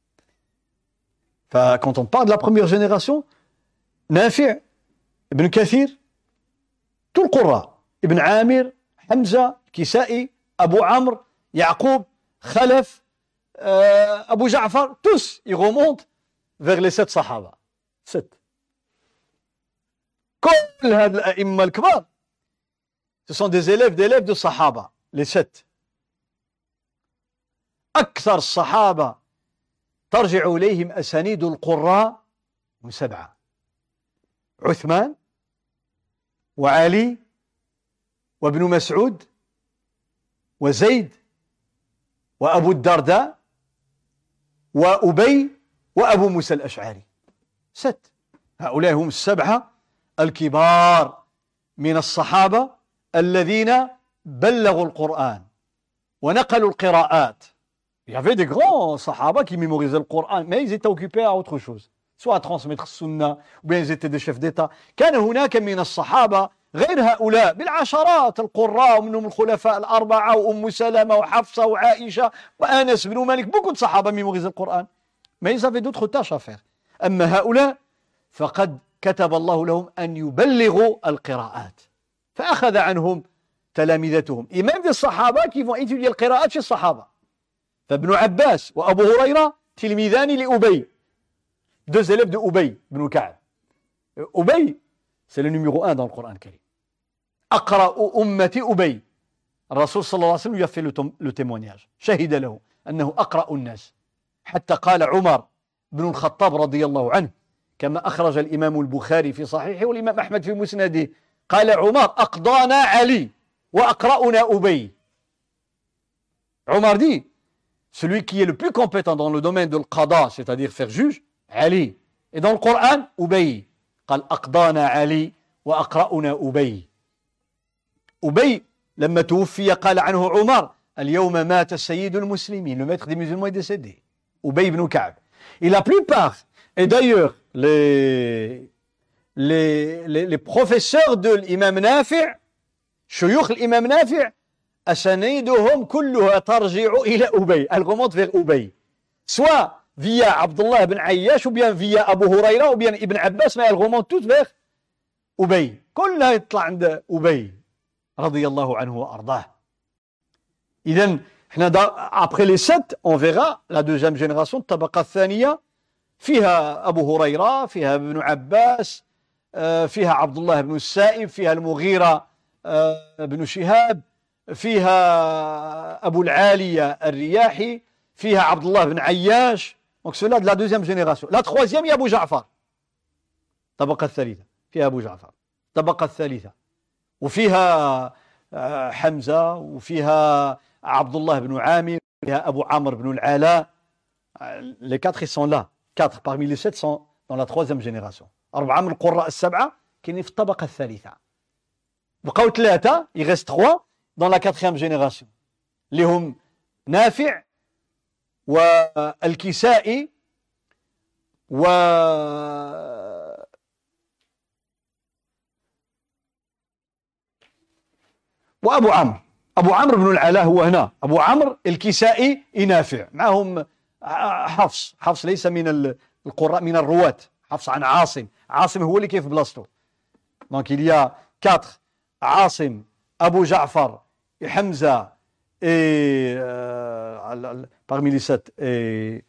Quand on parle de la première génération, Nafi', Ibn Kathir, tout le Qurra, Ibn Amir, Hamza, Kisa'i, Abu Amr, Yaqub, Khalaf, Abu Ja'far, tous, ils remontent vers les 7 Sahaba. 7. كل هاد الأئمة الكبار, ce sont des élèves de Sahaba, les 7. أكثر الصحابة ترجع إليهم أسانيد القراء هم 7. عثمان وعلي وابن مسعود وزيد وأبو الدرداء وأبي وأبو موسى الأشعري. 7. هؤلاء هم 7 الكبار من الصحابة الذين بلغوا القرآن ونقلوا القراءات. Il y avait des grands sahaba qui mémorisaient le Coran, mais ils étaient occupés à autre chose, soit à transmettre le sunna, ou bien ils étaient des chefs d'État. كان هناك من الصحابة غير هؤلاء بالعشرات القراء ومنهم الخلفاء الأربعة وأم سلمة وحفصة وعائشة وأنس بن مالك beaucoup de صحابة mémorisent le Coran mais ils avaient d'autres tâches à faire أما هؤلاء فقد كتب الله لهم أن يبلغوا القراءات فأخذ عنهم تلامذتهم et même des صحابة qui vont étudier القراءات chez الصحابة فابن عباس وأبو هريرة تلميذان لأبي deux élèves de Ubay ibn Ka'b Ubay c'est le numéro 1 dans le Coran Karim أقرأ أمتي أبي الرسول صلى الله عليه وسلم lui a fait le témoignage شهد له أنه أقرأ الناس حتى قال عمر بن الخطاب رضي الله عنه كما أخرج الإمام البخاري في صحيحه والإمام أحمد في مسنده قال عمر أقضانا علي وأقرأنا أبي Omar dit celui qui est le plus compétent dans le domaine de l'qada c'est-à-dire faire juge Ali et dans le Coran Ubay قال أقضانا علي وأقرأنا أبي أبي لما توفي قال عنه عمر اليوم مات سيد المسلمين le maître des musulmans est décédé Ubay ibn Ka'b et la plupart et d'ailleurs les professeurs de l'imam Nafi' شيوخ الإمام نافع أسانيدهم كلها ترجع إلى أبي elle remonte vers Ubay soit via Abdullah ibn Ayyash ou bien via Abu Huraira ou bien Ibn Abbas mais elle remonte toutes vers Ubay كلها يطلع عند أبي رضي الله عنه وأرضاه إذن احنا après les 7 on verra la deuxième génération الطبقة الثانية فيها أبو هريرة فيها ابن عباس فيها عبد الله بن السائب فيها المغيرة بن شهاب فيها أبو العالية الرياحي فيها عبد الله بن عياش donc cela de la deuxième génération la troisième il y a Abu Ja'far الطبقة الثالثة فيها أبو جعفر الطبقة الثالثة وفيها حمزة وفيها عبد الله بن عامر وفيها أبو عمرو بن العلاء les 4 ils sont là 4 parmi les 7 sont dans la troisième génération 4 من القراء السبعة كاينين في الطبقة الثالثة بقاو 3 il reste 3 dans la 4e génération اللي هم نافع والكسائي وأبو عمرو أبو عمرو بن العلاء هو هنا أبو عمرو الكسائي نافع معهم حفص ليس من القراء من الرواة حفص عن عاصم هو اللي كيف بلاصتو donc il y a 4 عاصم أبو جعفر حمزة et parmi les 7 et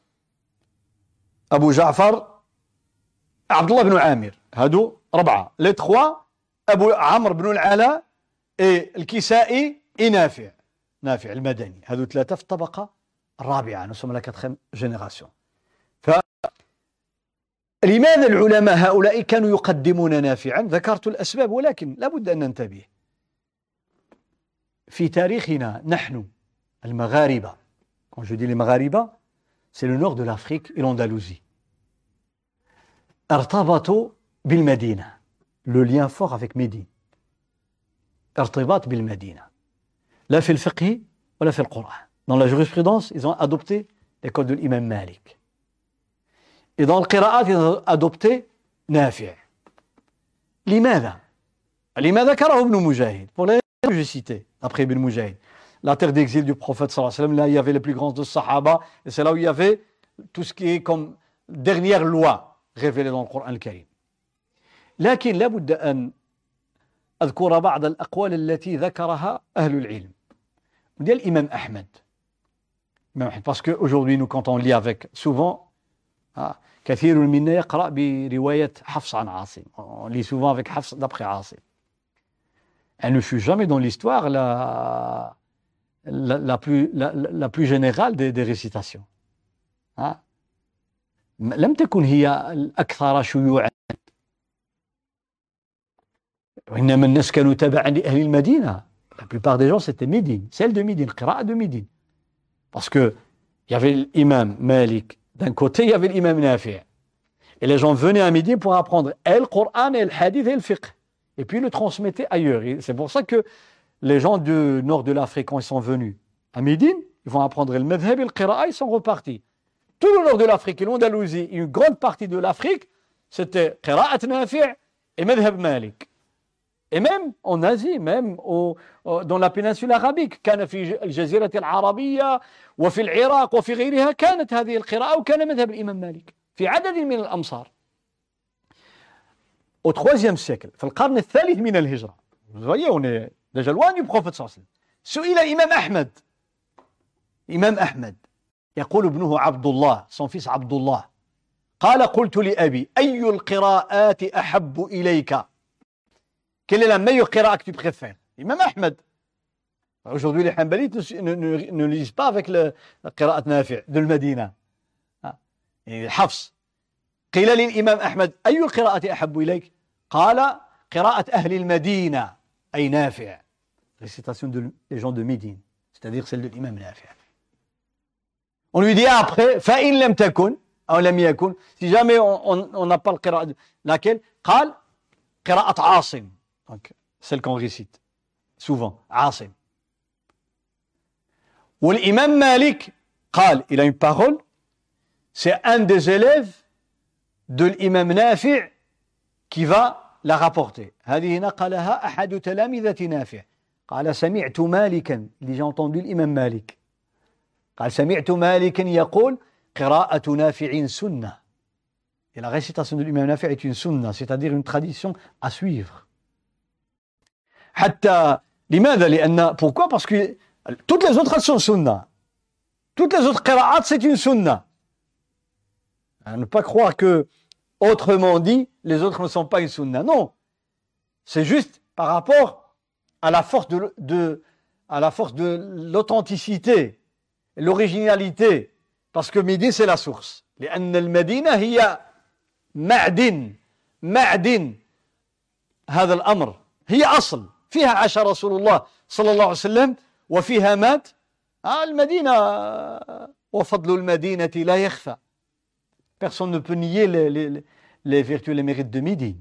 أبو جعفر عبد الله بن عامر هادو 4 les 3 أبو عمرو بن العلاء et الكسائي نافع المدني هادو 3 في الطبقة الرابعة nous sommes la 4e génération لماذا العلماء هؤلاء كانوا يقدمون نافعا ذكرت الأسباب ولكن لابد أن ننتبه في تاريخنا نحن المغاربة quand je dis les Maghariba c'est le nord de l'Afrique et l'Andalousie ارتبطوا بالمدينة le lien fort avec Médine ارتباط بالمدينة لا في الفقه ولا في القرآن dans la jurisprudence ils ont adopté l'école de l'imam Malik et dans le qira'at ils ont adopté Nafi' لماذا ذكره ابن مجاهد pour les que j'ai cités après Ibn Mujahid la terre d'exil du prophète sallallahu alayhi wa sallam là il y avait les plus grands de Sahaba et c'est là où il y avait tout ce qui est comme dernière loi révélée dans le Coran al-Karim لكن لابد أن أذكر بعض الأقوال التي ذكرها أهل العلم ديال الإمام أحمد parce que aujourd'hui nous quand on lit avec souvent كثير منا يقرأ برواية حفص عن عاصم on lit souvent avec حفص d'après عاصم elle ne fut jamais dans l'histoire la plus générale des récitations لم تكن هي الأكثر شيوعا وإنما الناس كانوا تبعا لأهل المدينة la plupart des gens c'était Médine celle de Médine القراءة de Médine parce que il y avait l'imam Malik d'un côté il y avait l'imam Nafi' et les gens venaient à Médine pour apprendre et le Coran et le hadith et le fiqh et puis le transmettaient ailleurs et c'est pour ça que les gens du nord de l'Afrique quand ils sont venus à Médine ils vont apprendre le madhhab et le qira'a ils sont repartis tout le nord de l'Afrique et l'Andalousie une grande partie de l'Afrique c'était qira'at Nafi' et madhhab Malik Et même en Asie, même dans la péninsule arabique, كان في الجزيرة العربية وفي العراق وفي غيرها كانت هذه القراءة وكان مذهب الإمام مالك في عدد من الأمصار. Au IIIe siècle, في القرن الثالث من الهجرة. Vous voyez, on est déjà loin du prophète صلى الله عليه وسلم. سئل إمام أحمد. إمام أحمد يقول ابنه عبد الله, son fils عبد الله. قال قلت لأبي أي القراءات أحب إليك? Quelle est la meilleure qira'a que tu préfères? Imam Ahmed. Aujourd'hui, les Hanbalites ne lisent pas avec le qira'at Nafi' de Medina. Hafs. قيل للإمام أحمد أي القراءة أحب إليك؟ قال قراءة أهل المدينة أي نافع. Récitation des gens de Médine, c'est-à-dire celle de l'imam Nafi'. On lui dit après فإن لم تكن أو لم يكن, si jamais on n'a pas le qira'a, laquelle? قال قراءة عاصم. Donc, celle qu'on récite souvent, عاصم. Ou l'imam Malik, قال, il a une parole, c'est un des élèves de l'imam Nafi' qui va la rapporter. هذه نقلها أحد تلامذة نافع. قال سمعت مالكا, j'ai entendu l'imam Malik. قال سمعت مالكا يقول قراءة نافع سنة. Et la récitation de l'imam Nafi' est une sunna, c'est-à-dire une tradition à suivre. حتى لماذا؟ لأن pourquoi? Parce que toutes les autres sont sunna. Toutes les autres qira'at c'est une sunna. À ne pas croire que autrement dit les autres ne sont pas une sunna. Non, c'est juste par rapport à la force de l'authenticité, l'originalité. Parce que Médine c'est la source. لأن المدينة هي معدن هذا الأمر. هي أصل. فيها عاش رسول الله صلى الله عليه وسلم وفيها مات. المدينة وفضل المدينة لا يخفى. Personne ne peut nier les vertus et les mérites de Médine.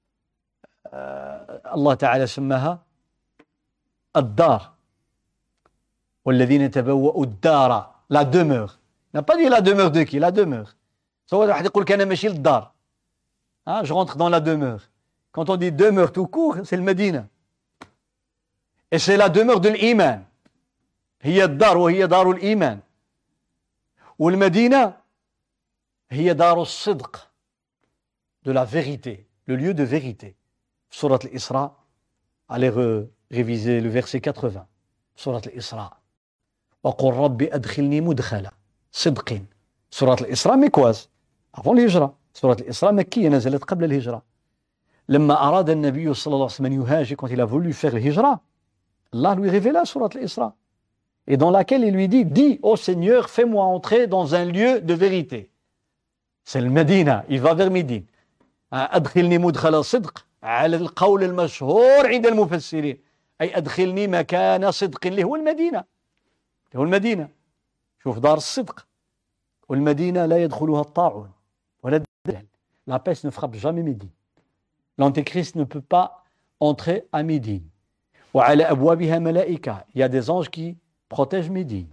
Allah Ta'ala سماها الدار والذين تبوأوا الدار, la demeure. Il n'a pas dit la demeure de qui? La demeure. سواء واحد يقول كان ماشي للدار. Je rentre dans la demeure. Quand on dit demeure tout court, c'est le Médine. Et c'est la demeure de l'iman. هي الدار وهي دار الإيمان. والمدينة هي دار الصدق, de la vérité, le lieu de vérité. Surat al-Isra, allez réviser le verset 80. Surat al-Isra. وقل رب أدخلني مدخل صدق. Surat al-Isra مكواز avant الهجرة. Surat al-Isra مكية نزلت قبل الهجرة. لما أراد النبي صلى الله عليه وسلم أن يهاجر, quand il a voulu faire l'hijra, Allah lui révéla Surat al-Isra, et dans laquelle il lui dit, dis ô Seigneur, fais-moi entrer dans un lieu de vérité. C'est le Médina, il va vers Médine. أدخلني مدخل صدق على القول المشهور عند المفسرين, أي أدخلني مكان صدق اللي هو المدينة. هو المدينة. شوف دار الصدق. والمدينة لا يدخلها الطاعون ولا الدجال. La peste ne frappe jamais Médine. L'antéchrist ne peut pas entrer à Médine. وعلى أبوابها ملائكة. Il y a des anges qui protègent Médine.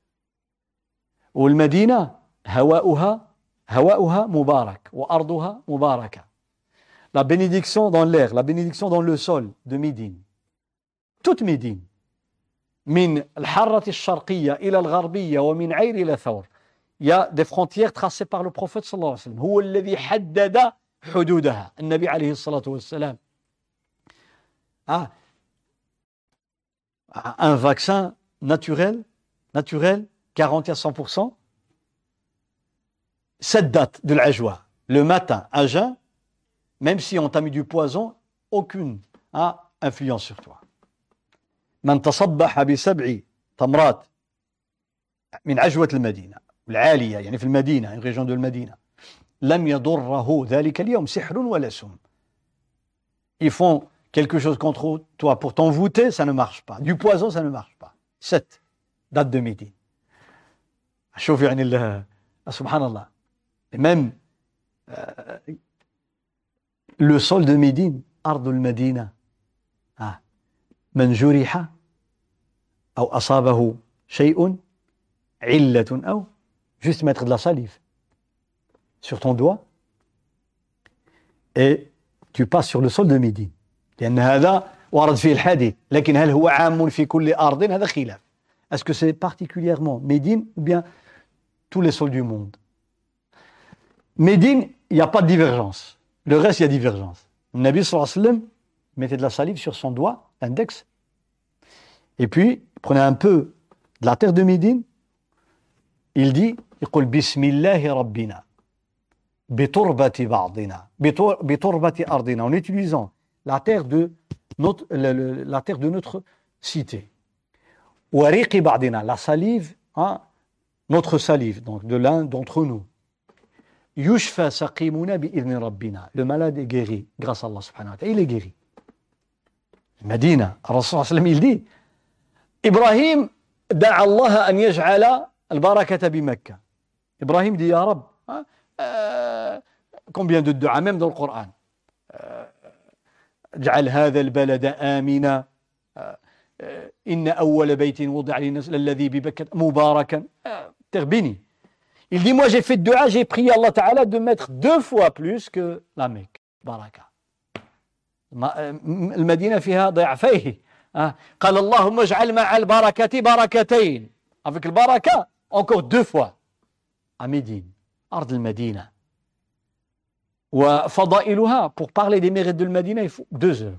والمدينة هواؤها مبارك وأرضها مباركة. La bénédiction dans l'air, la bénédiction dans le sol de Médine. Toute Médine. من الحرة الشرقية إلى الغربية ومن عير إلى ثور. Il y a des frontières tracées par le prophète صلى الله عليه وسلم. هو الذي حدد حدودها. النبي عليه الصلاة والسلام. Un vaccin naturel, garanti à 100%. Cette date de l'ajwa, le matin à jeun, même si on t'a mis du poison, aucune influence sur toi. من تصبح ب7 تمرات من عجوة المدينة العالية, يعني في المدينة, une région de المدينة, لم يضره ذلك اليوم سحر ولا سم. Ils font quelque chose contre toi pour t'envoûter, ça ne marche pas. Du poison, ça ne marche pas. 7 date de Médine. شوف يعني سبحان الله. Et même le sol de Médine, أرض المدينة, من جرح أو أصابه شيء علة أو juste mettre de la salive sur ton doigt et tu passes sur le sol de Médine. لأن هذا ورد فيه الحديث لكن هل هو عام في كل أرض هذا خلاف. Est-ce que c'est particulièrement Médine ou bien tous les sols du monde? Médine, il n'y a pas de divergence. Le reste, il y a divergence. Le Nabi sallallahu alayhi wa sallam mettait de la salive sur son doigt, l'index, et puis il prenait un peu de la terre de Médine, il dit, il dit Bismillahi Rabbina, biturbati ba'dina, biturbati ardina, en utilisant la terre de notre cité. Wariqi ba'dina, la salive, hein, notre salive, donc de l'un d'entre nous. Yushfa saqimuna bi'idhni rabbina. Le malade est guéri grâce à Allah subhanahu wa ta'ala. Il est guéri. Medina, Rasul sallam, il dit Ibrahim da'a Allah an yaj'ala al-barakata bi Makkah. Ibrahim dit Ya Rab, combien de du'a même dans le Coran. اجعل هذا البلد آمنا إن أول بيت وضع للناس الذي ببكة مباركا تربيني. Il dit, moi j'ai fait de dua, j'ai prié Allah Ta'ala de mettre 2 fois plus que la Mecque. Baraka. المدينة فيها ضعفيه. قال اللهم اجعل مع البركة بركتين. Avec le baraka, encore 2 fois. À Médine, أرض المدينة. وفضائلها, pour parler des mérites de Médine, il faut 2 heures.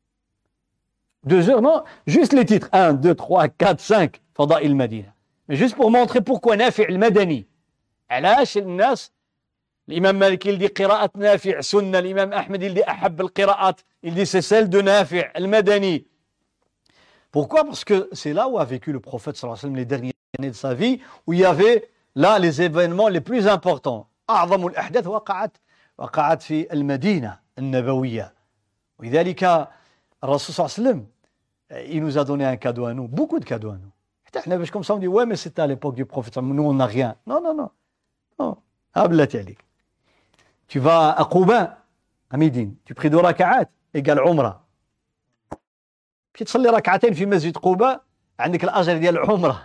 2 heures, non, juste les titres. 1, 2, 3, 4, 5. فضائل المدينة. Mais juste pour montrer pourquoi نافع المدني. علاش الناس الإمام مالك يلدي قراءة نافع سنة الإمام أحمد يلدي أحب القراءات يلدي c'est celle de نافع المدني. Pourquoi? Parce que c'est là où a vécu le prophète sallallahu alayhi wa sallam les dernières années de sa vie, où il y avait là les événements les plus importants. أعظم الأحداث وقعت في المدينة النبوية. ولذلك الرسول صلى الله عليه وسلم il nous a donné un cadeau à nous, beaucoup de cadeaux à nous. Comme ça on dit ouais mais c'était à l'époque du prophète, nous on n'a rien. Non. Tu vas à Quba, à Médine, tu pries 2 raka'at, égale Umrah. Puis tu صلي ركعتين في مسجد قباء عندك الأجر ديال العمرة.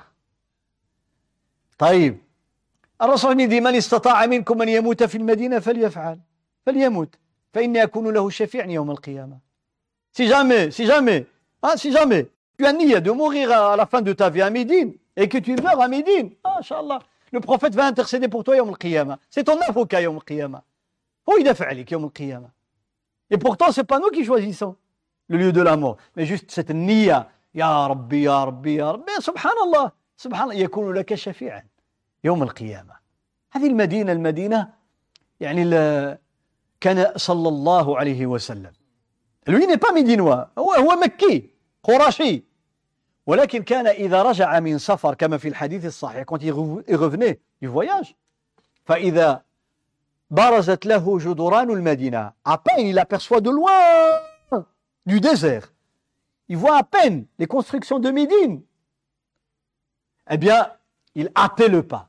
طيب الرسول يقول من استطاع منكم أن يموت في المدينة فليموت فإني أكون له شفيعا يوم القيامة. Si jamais tu as nié de mourir à la fin de ta vie à Médine et que tu meurs à Médine, Inch'Allah, le prophète va intercéder pour toi Yawm al-Qiyamah. C'est ton avocat Yawm al-Qiyamah. Oh, il a fait Yawm al-Qiyamah. Et pourtant, ce n'est pas nous qui choisissons le lieu de la mort, mais juste cette niya. Ya Rabbi, Ya Rabbi, Ya Rabbi. Subhanallah, يكون لك شفيعا يوم القيامة. هذه المدينة يعني كان صلى الله عليه وسلم. Lui n'est pas médinois, هو مكي قرشي. ولكن كان إذا رجع من سفر كما في الحديث الصحيح quand il revenait du voyage فإذا برزت له جدران المدينة, à peine il aperçoit de loin du désert, il voit à peine les constructions de Médine, eh bien il hâtait le pas.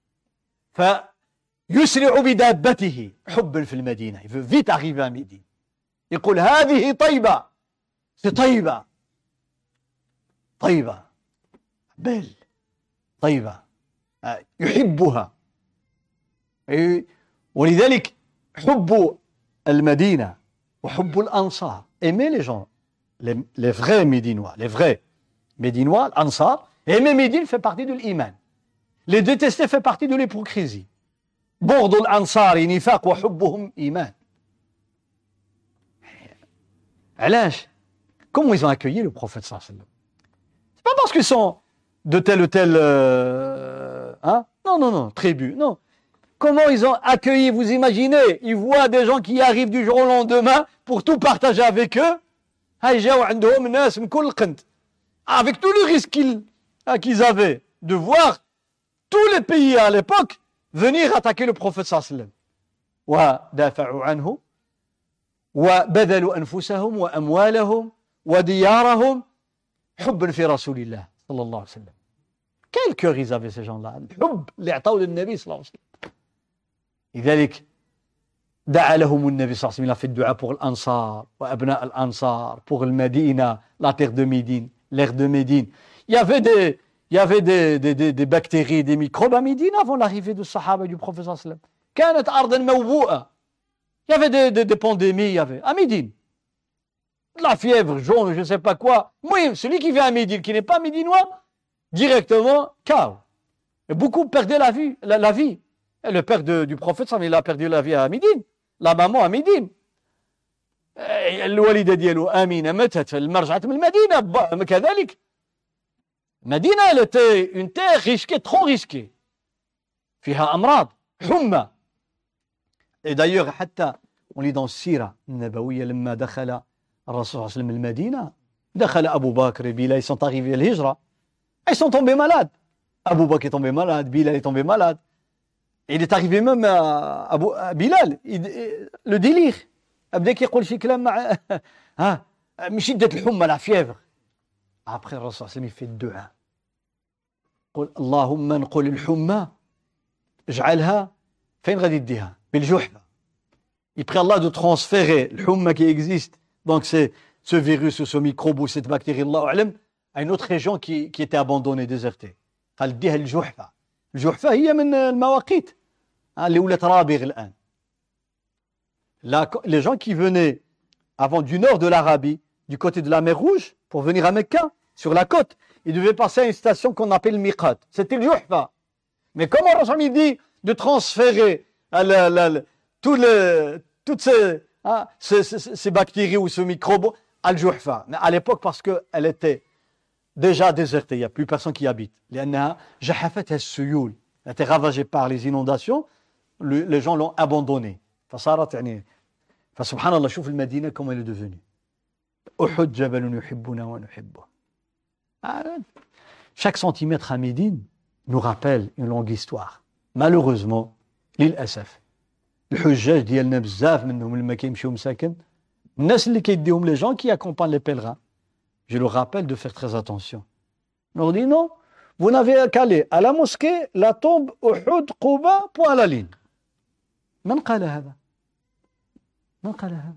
فيسرع بدابته حبا في المدينة, il veut vite arriver à Médine. يقول هذه طيبة, c'est طيبة belle, طيبة يحبها. ولذلك حب المدينة وحب الأنصار, aimer les gens, les vrais Médinois, l'Ansar, aimer Médine fait partie de l'iman. Les détester fait partie de l'hypocrisie. بغض الأنصار نفاق وحبهم إيمان. علاش? Comment ils ont accueilli le prophète sallallahu alayhi wa sallam? C'est pas parce qu'ils sont de telle ou telle non, tribu, non. Comment ils ont accueilli, vous imaginez? Ils voient des gens qui arrivent du jour au lendemain pour tout partager avec eux. Avec tout le risque qu'ils avaient de voir tous les pays à l'époque venir attaquer le prophète sallallahu alayhi wa sallam. وَدَافَعُوا عَنْهُ وَبَذَلُوا أَنفُسَهُمْ وَأَمْوَالَهُمْ وديارهم حبا في رسول الله صلى الله عليه وسلم. Quel cœur ils avaient ces gens-là, الحب اللي عطاوه للنبي صلى الله عليه وسلم. لذلك دعا لهم النبي صلى الله عليه وسلم, il a fait dua pour l'Ansar وأبناء الأنصار, pour le Médina, la terre de Médine, l'air de Médine. Il y avait des bactéries, des microbes à Médine avant l'arrivée du Sahaba du prophète صلى الله عليه وسلم. كانت أرضا موبوءة. Il y avait des pandémies, il y avait à Médine. la fièvre jaune, je ne sais pas quoi. Moi, celui qui vient à Médine, qui n'est pas médinois, directement, KO. Et beaucoup perdaient la vie. Et le père du prophète, il a perdu la vie à Médine. La maman à Médine. الوالدة ديالو آمينة ماتت لما رجعت من المدينة كذلك. مدينة elle était une terre risquée, trop risquée. فيها أمراض حمى. Et d'ailleurs حتى on lit dans السيرة النبوية لما دخل الرسول صلى الله عليه وسلم المدينة دخل أبو بكر Bilal, ils sont arrivés à l'Hijra. Ils sont tombés malades. Abou Bakr est tombé malade, Bilal est tombé malade. Il est arrivé même à Bilal, le délire. بدا كيقول شي كلام مع من شدة الحمى la fièvre. Après le Rasul sallallahu alayhi wa sallam il fait الدعاء. قل اللهم انقل الحمى اجعلها فين غادي يديها بالجحفة. Il prie Allah de transférer le humma qui existe, donc c'est ce virus ou ce microbe ou cette bactérie Allahu a'lam à une autre région qui était abandonnée, désertée. قال اديها الجحفة. الجحفة هي من المواقيت اللي ولات رابغ الآن. Les gens qui venaient avant du nord de l'Arabie, du côté de la mer Rouge, pour venir à Mecca, sur la côte, ils devaient passer à une station qu'on appelle Miqat. C'était le Juhfa. Mais comment Rasul dit de transférer toutes ces bactéries ou ce microbe à le Juhfa? Mais à l'époque, parce qu'elle était déjà désertée, il n'y a plus personne qui habite. Elle était ravagée par les inondations, les gens l'ont abandonnée. فصارت يعني فسبحان الله شوف المدينة comment elle est devenue. أحد جبل يحبنا ونحبه. Chaque centimètre à Médine nous rappelle une longue histoire. Malheureusement, للأسف الحجاج ديالنا بزاف منهم لما كيمشيو مساكن الناس اللي كيديهم les gens qui accompagnent les pèlerins. Je leur rappelle de faire très attention. On leur dit non, vous n'avez qu'à aller à la mosquée, la tombe, Uhud, Quba, point à la ligne. من قال هذا؟ من قال هذا؟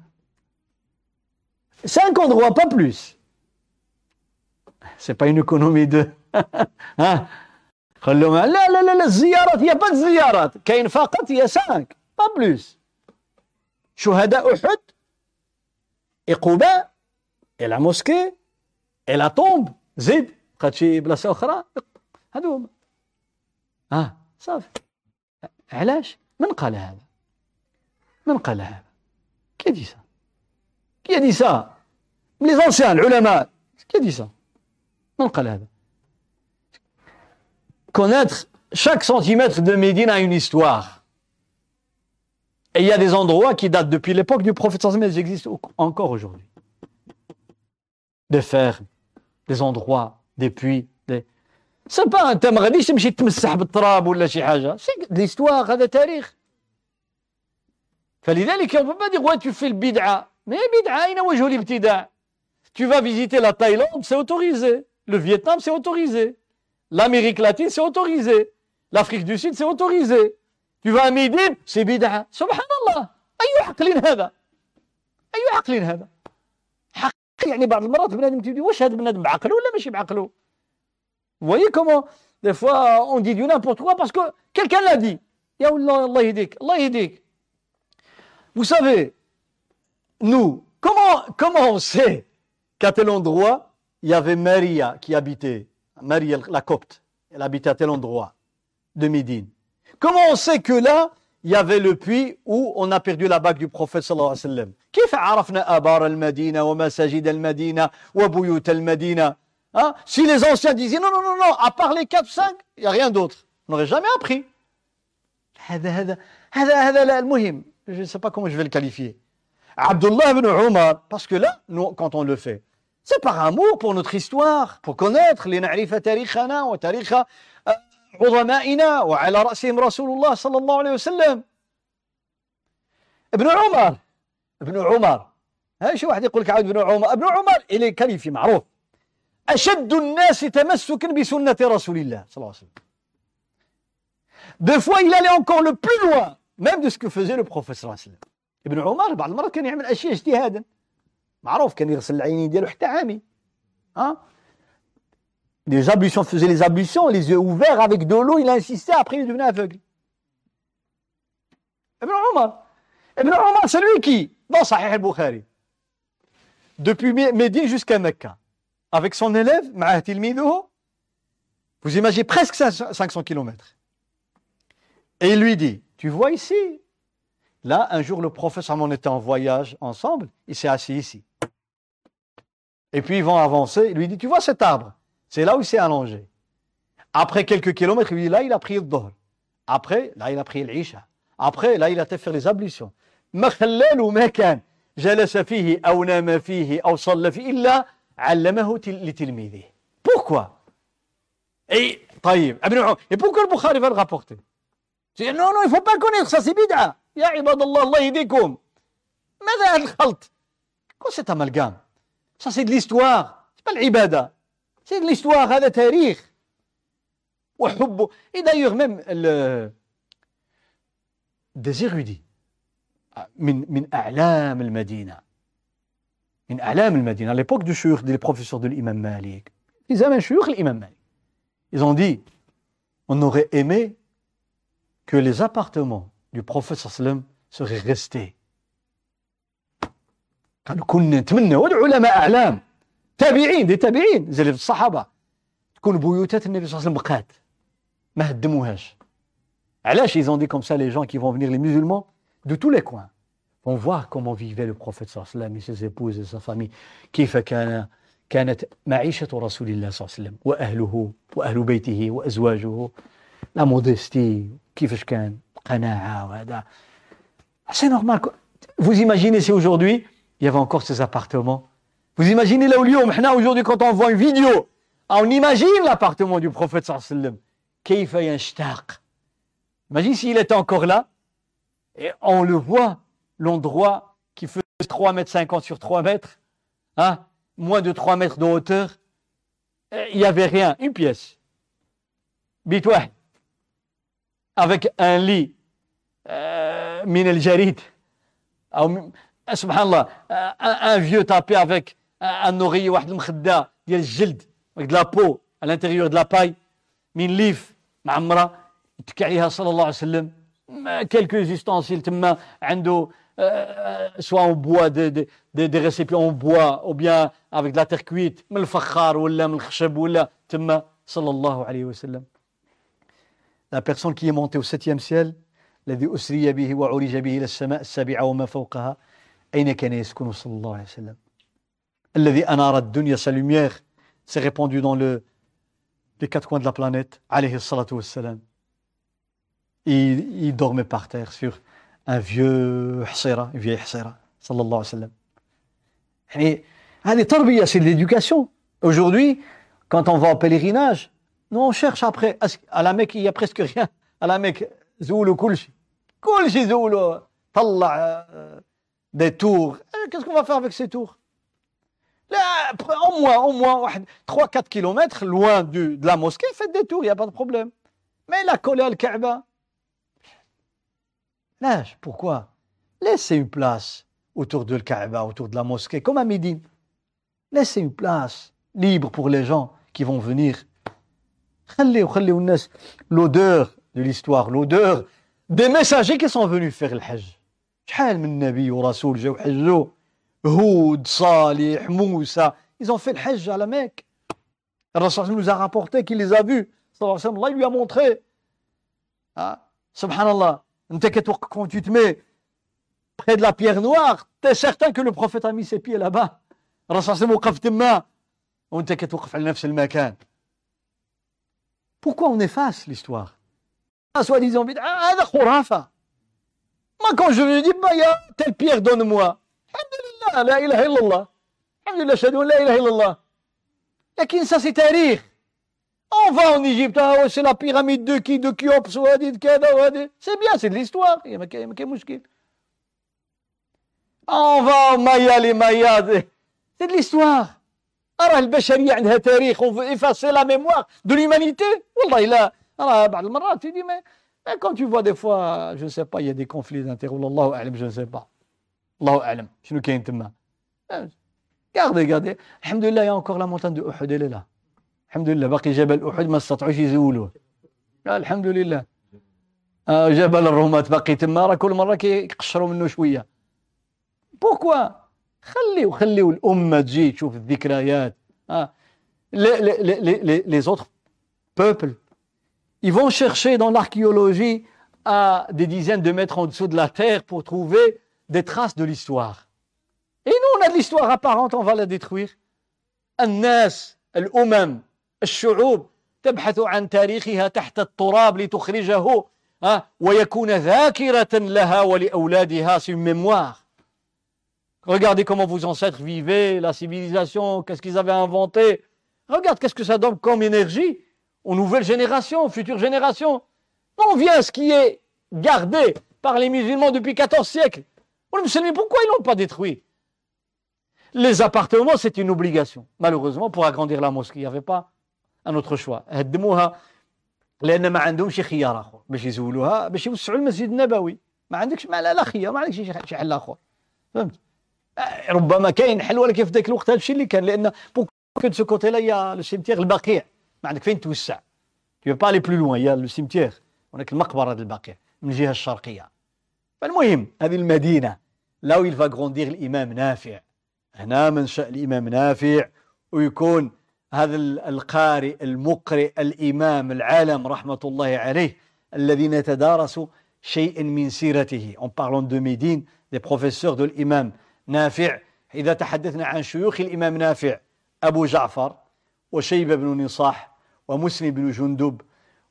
5 endroits, pas plus. C'est pas une économie de خلوهم لا الزيارات هي pas de زيارات كاين فقط هي 5 pas plus. شهداء أحد et Quba et la mosquée et la tombe زيد بقات شي بلاصة أخرى هذو هما صافي. علاش؟ من قال هذا؟ من قال هذا؟ Qui a dit ça? Qui a dit ça? Les anciens, les ulama. Qui a dit ça? من قال هذا? Connaître chaque centimètre de Médine a une histoire. Et il y a des endroits qui datent depuis l'époque du prophète sallallahu alayhi wa sallam, mais existent encore aujourd'hui. Des fermes, des endroits, des puits, C'est pas انت ما غاديش تمشي تمسح بالتراب ولا شي حاجة. C'est l'histoire, هذا تاريخ. فلذلك on ne peut pas dire ouais tu fais le bid'a. Mais bid'a أين وجه الابتداع? Tu vas visiter la Thaïlande, c'est autorisé. Le Vietnam, c'est autorisé. L'Amérique latine, c'est autorisé. L'Afrique du Sud, c'est autorisé. Tu vas à Médine, c'est bid'a. Subhanallah. أي عقل هذا؟ أي عقل هذا؟ حق يعني بعض المرات بنادم تقول واش هذا بنادم بعقله ولا ماشي بعقله؟ Vous voyez comment des fois on dit du n'importe quoi parce que quelqu'un l'a dit. Ya Allah, Allah yahdik, Allah yahdik. Vous savez, nous, comment on sait qu'à tel endroit, il y avait Maria qui habitait, Maria la copte, elle habitait à tel endroit de Médine. Comment on sait que là, il y avait le puits où on a perdu la bague du prophète sallallahu alayhi wa sallam? كيف عرفنا آبار المدينة ومساجد المدينة وبيوت المدينة? Hein? Si les anciens disaient non, à part les 4-5, il n'y a rien d'autre. On n'aurait jamais appris. هذا المهم. Je ne sais pas comment je vais le qualifier. Abdullah ibn Umar, parce que là, nous, quand on le fait, c'est par amour pour notre histoire, pour connaître les نعرف تاريخنا وتاريخ عظمائنا وعلى رأسهم رسول الله صلى الله عليه وسلم. ابن عمر. ها شي واحد يقول لك عاود ابن عمر il est qualifié معروف. أشد الناس تمسكا بسنة رسول الله صلى الله عليه وسلم. Des fois, il allait encore le plus loin, même de ce que faisait le prophète صلى الله عليه وسلم. ابن عمر بعض المرات كان يعمل أشياء اجتهادا. معروف كان يغسل العينين ديالو حتى عامي. Les ablutions, faisait les ablutions, les yeux ouverts avec de l'eau, il insistait, après il devenait aveugle. Ibn Umar, c'est lui qui, dans Sahih al-Bukhari, depuis Médine jusqu'à Mecca, avec son élève, معاه تلميذه, vous imaginez presque 500 kilomètres. Et il lui dit, tu vois ici, là, un jour, le prophète, on était en voyage ensemble, il s'est assis ici. Et puis, ils vont avancer, il lui dit, tu vois cet arbre? C'est là où il s'est allongé. Après quelques kilomètres, il lui dit, là, il a pris le Dhuhr. Après, là, il a pris l'Isha. Après, là, il a été faire les ablutions. ما خلال وما كان جلس فيه أو نام فيه أو صلى فيه إلا علمه لتلميذه. Pourquoi? Et, طيب, et pourquoi le Bukhari va le rapporter? Non, non, il ne faut pas connaître, ça c'est bid'a. Ya ibadallah, Allah yahdikum. ماذا هذا الخلط? Quoi cet amalgame? Ça c'est de l'histoire, c'est pas l'ibada. C'est de l'histoire, هذا تاريخ. وحبه. Et d'ailleurs même des érudits من أعلام المدينة. من أعلام المدينة. À l'époque du shuyukh, des professeurs de l'imam Malik. Ils avaient un shuyukh l'imam Malik. Ils ont dit, on aurait aimé que les appartements du prophète sallam seraient restés. قالوا كنا نتمنى والعلماء أعلام تابعين دي تابعين زي الصحابة تكون بيوتات النبي صلى الله عليه وسلم بقات ما هدموهاش. علاش ils ont dit comme ça les gens qui vont venir, les musulmans de tous les coins vont voir comment vivait le prophète صلى الله عليه وسلم et ses épouses et sa famille. كيف كانت معيشة رسول الله صلى الله عليه وسلم وأهله وأهل بيته وأزواجه. La modestie, كيفاش كان قناعة وهذا. C'est normal. Vous imaginez si aujourd'hui il y avait encore ces appartements. Vous imaginez là où اليوم احنا aujourd'hui quand on voit une vidéo, on imagine l'appartement du prophète صلى الله عليه وسلم. كيف يشتاق. Imagine s'il était encore là et on le voit, l'endroit qui faisait 3,50 mètres sur 3 mètres, hein, moins de 3 mètres de hauteur, il n'y avait rien, une pièce. بيت واحد. Avec un lit من الجريد أو سبحان الله un vieux tapé avec un oreiller واحد المخدة ديال الجلد avec de la peau à l'intérieur de la paille من ليف معمرة يتكي عليها صلى الله عليه وسلم. Quelques ustensiles تما عنده soit en bois des récipients en bois ou bien avec de la terre cuite من الفخار ولا من الخشب ولا تما صلى الله عليه وسلم. La personne qui est montée au 7e ciel, الذي أسري به وعرج به إلى السماء السابعة وما فوقها, أين كان يسكن صلى الله عليه وسلم. الذي أنار الدنيا, sa lumière s'est répandue dans les quatre coins de la planète, عليه الصلاة والسلام. Il dormait par terre sur un vieux حصيرة, une vieille حصيرة, صلى الله عليه وسلم. يعني هذه تربية, c'est de l'éducation. Aujourd'hui, quand on va au pèlerinage, nous on cherche après. À la Mecque, il n'y a presque rien. À la Mecque, زولوا كل شيء زولوا. طلع des tours. Qu'est-ce qu'on va faire avec ces tours? Là, au moins 3-4 kilomètres loin de la mosquée, faites des tours, il n'y a pas de problème. Mais la coller à Kaaba. Là, pourquoi? Laissez une place autour de Kaaba, autour de la mosquée, comme à Médine. Laissez une place libre pour les gens qui vont venir. L'odeur de l'histoire, l'odeur des messagers qui sont venus faire le Hajj. شحال من نبي ورسول جاو حجوا. هود, صالح, Moussa, ils ont fait le Hajj à la Mecque. Le Rasul nous a rapporté qu'il les a vus. Allah lui a montré. Ah, subhanallah. Quand tu te mets près de la pierre noire, tu es certain que le prophète a mis ses pieds là-bas. Le Rasul وقف تما وانت كتوقف على نفس المكان. Pourquoi on efface l'histoire? Soi-disant, هذا خرافة. Moi, quand je me dis, il y a telle pierre, donne-moi. Alhamdulillah, la ilaha illallah. Alhamdulillah, shahadu la ilaha illallah. Lakin ça, c'est tarikh. On va en Égypte, c'est la pyramide de Khéops, c'est bien, c'est de l'histoire. Il y a quel mouchkil. On va au Maya, les Mayas, c'est de l'histoire. أرى البشرية عندها تاريخ, on veut effacer la mémoire de l'humanité. والله لا, أرى بعض المرات tu dis mais quand tu vois des fois, je ne sais pas, il y a des conflits d'intérêts, والله أعلم, je ne sais pas. الله أعلم شنو كاين تما. Regardez, alhamdulillah, il y a encore la montagne de Uhud, elle est là. Alhamdulillah, باقي جبل أحد ما استطاعوش يزولوه. alhamdulillah. جبل الرماة باقي تما, راه كل مرة كيقشروا منه شوية. Pourquoi? خليوا الأمة تجي تشوف الذكريات. Les autres peuples, ils vont chercher dans l'archéologie à des dizaines de mètres en dessous de la terre pour trouver des traces de l'histoire. Et nous, on a de l'histoire apparente, on va la détruire. الناس الأمم الشعوب تبحث عن تاريخها تحت التراب لتخرجه ويكون ذاكرة لها ولأولادها. C'est une mémoire. Regardez comment vos ancêtres vivaient, la civilisation, qu'est-ce qu'ils avaient inventé. Regarde qu'est-ce que ça donne comme énergie aux nouvelles générations, aux futures générations. On vient à ce qui est gardé par les musulmans depuis 14 siècles. Les musulmans, pourquoi ils ne l'ont pas détruit? Les appartements, c'est une obligation. Malheureusement, pour agrandir la mosquée, il n'y avait pas un autre choix. هدموها لأن ما عندهمش خيار آخر باش يزولوها باش يوسعوا المسجد النبوي. ما عندكش لا خيار، ما عندكش شي حل آخر. فهمت؟ ربما كاين حل ولكن في ذاك الوقت هذا الشيء اللي كان، لأن que de ce côté-là, il y a le cimetière البقيع. ما عندك فين توسع. Tu veux pas aller plus loin. Il y a le cimetière. هناك المقبرة البقيع من الجهة الشرقية. فالمهم هذه المدينة là où il va grandir الإمام نافع. هنا منشأ الإمام نافع، ويكون هذا القارئ المقرئ الإمام العالم رحمة الله عليه الذي نتدارس شيء من سيرته. En parlant de Médine, des professeurs de l'imam نافع. إذا تحدثنا عن شيوخ الإمام نافع، أبو جعفر وشيبة بن نصاح ومسلم بن جندب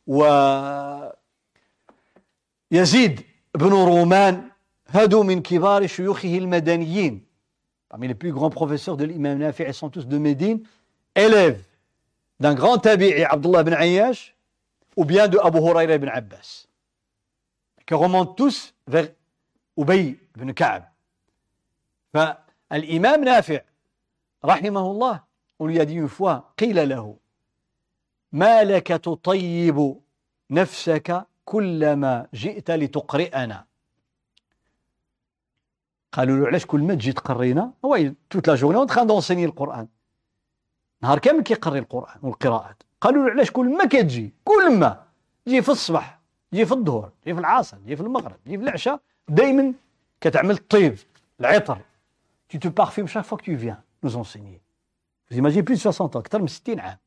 ويزيد بن رومان، هادو من كبار شيوخه المدنيين. Parmi les plus grands professeurs de l'imam Nafi', ils sont tous de Médine, élèves d'un grand tabi'i, Abdullah ibn Ayyash, ou bien de Abu Huraira ibn Abbas, qui remontent tous vers Ubay ibn Ka'b. L'imam Nafi', rahimahullah, on lui a dit une fois, قيل له ما لك تطيب نفسك كلما جئت لتقرئنا. قالوا له علاش كل ما تجي تقرينا؟ هو توت لا جورني اون تران دونسيني القران، نهار كامل كيقري القران والقراءات. قالوا له علاش كل ما كتجي، كل ما تجي في الصباح، تجي في الظهر، تجي في العصر، تجي في المغرب، تجي في العشاء، دائما كتعمل الطيب العطر. Tu te parfumes chaque fois que tu viens nous enseigner. Vous imaginez plus de 60 ans، أكثر من 60 عام.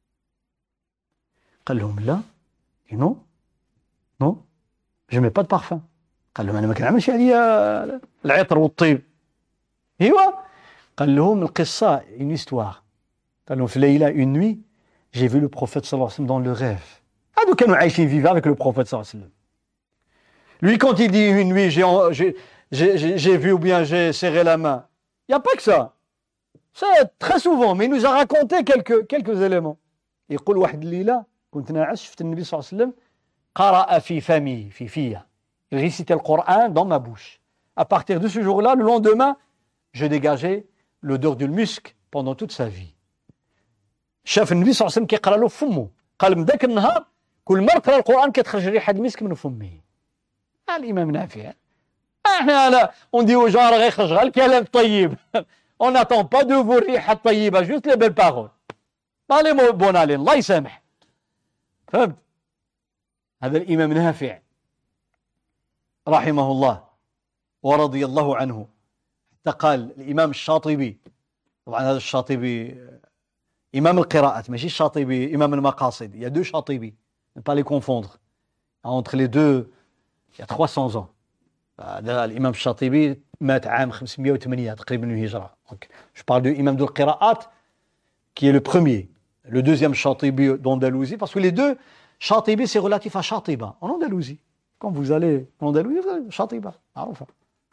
قال لهم لا، non, non, je mets pas de parfum. قال لهم أنا ما كنعملش عليا العطر والطيب. ايوا قال لهم القصة une histoire. قال لهم في ليلة une nuit j'ai vu le prophète صلى الله عليه وسلم dans le rêve. هادو كانوا عايشين vivre avec le prophète صلى الله عليه وسلم. Lui quand il dit une nuit j'ai vu ou bien j'ai serré la main, il n'y a pas que ça. C'est très souvent, mais il nous a raconté quelques éléments. يقول واحد الليلة كنت ناعس شفت النبي صلى الله عليه وسلم قرأ في فمي في فيا. Il récitait le Coran dans ma bouche. À partir de ce jour-là, le lendemain, je dégageais l'odeur du musc pendant toute sa vie. شاف النبي صلى الله عليه وسلم كيقرا له فمه، قال من ذاك النهار كل مرة قرا القرآن كتخرج ريحة المسك من فمه. الإمام نافع. احنا لا on dit aux gens راه غيخرج غير الكلام الطيب. On n'attend pas de vous الريحة الطيبة، juste les belles paroles. pas les mots bonalين، الله يسامح. فهمت؟ هذا الإمام نافع رحمه الله ورضي الله عنه. حتى قال الإمام الشاطبي، طبعا هذا الشاطبي إمام القراءات ماشي الشاطبي إمام المقاصد. Il y a deux Chatibi, ne pas les confondre. Entre les deux, il y a 300 ans. الإمام الشاطبي مات عام 508 تقريبا من الهجرة. Je parle de l'imam de القراءات qui est le premier. Le deuxième Chatibi d'Andalousie, parce que les deux Chatibi c'est relatif à Chatiba en Andalousie. Quand vous allez en Andalousie, vous allez شاطبة معروفة.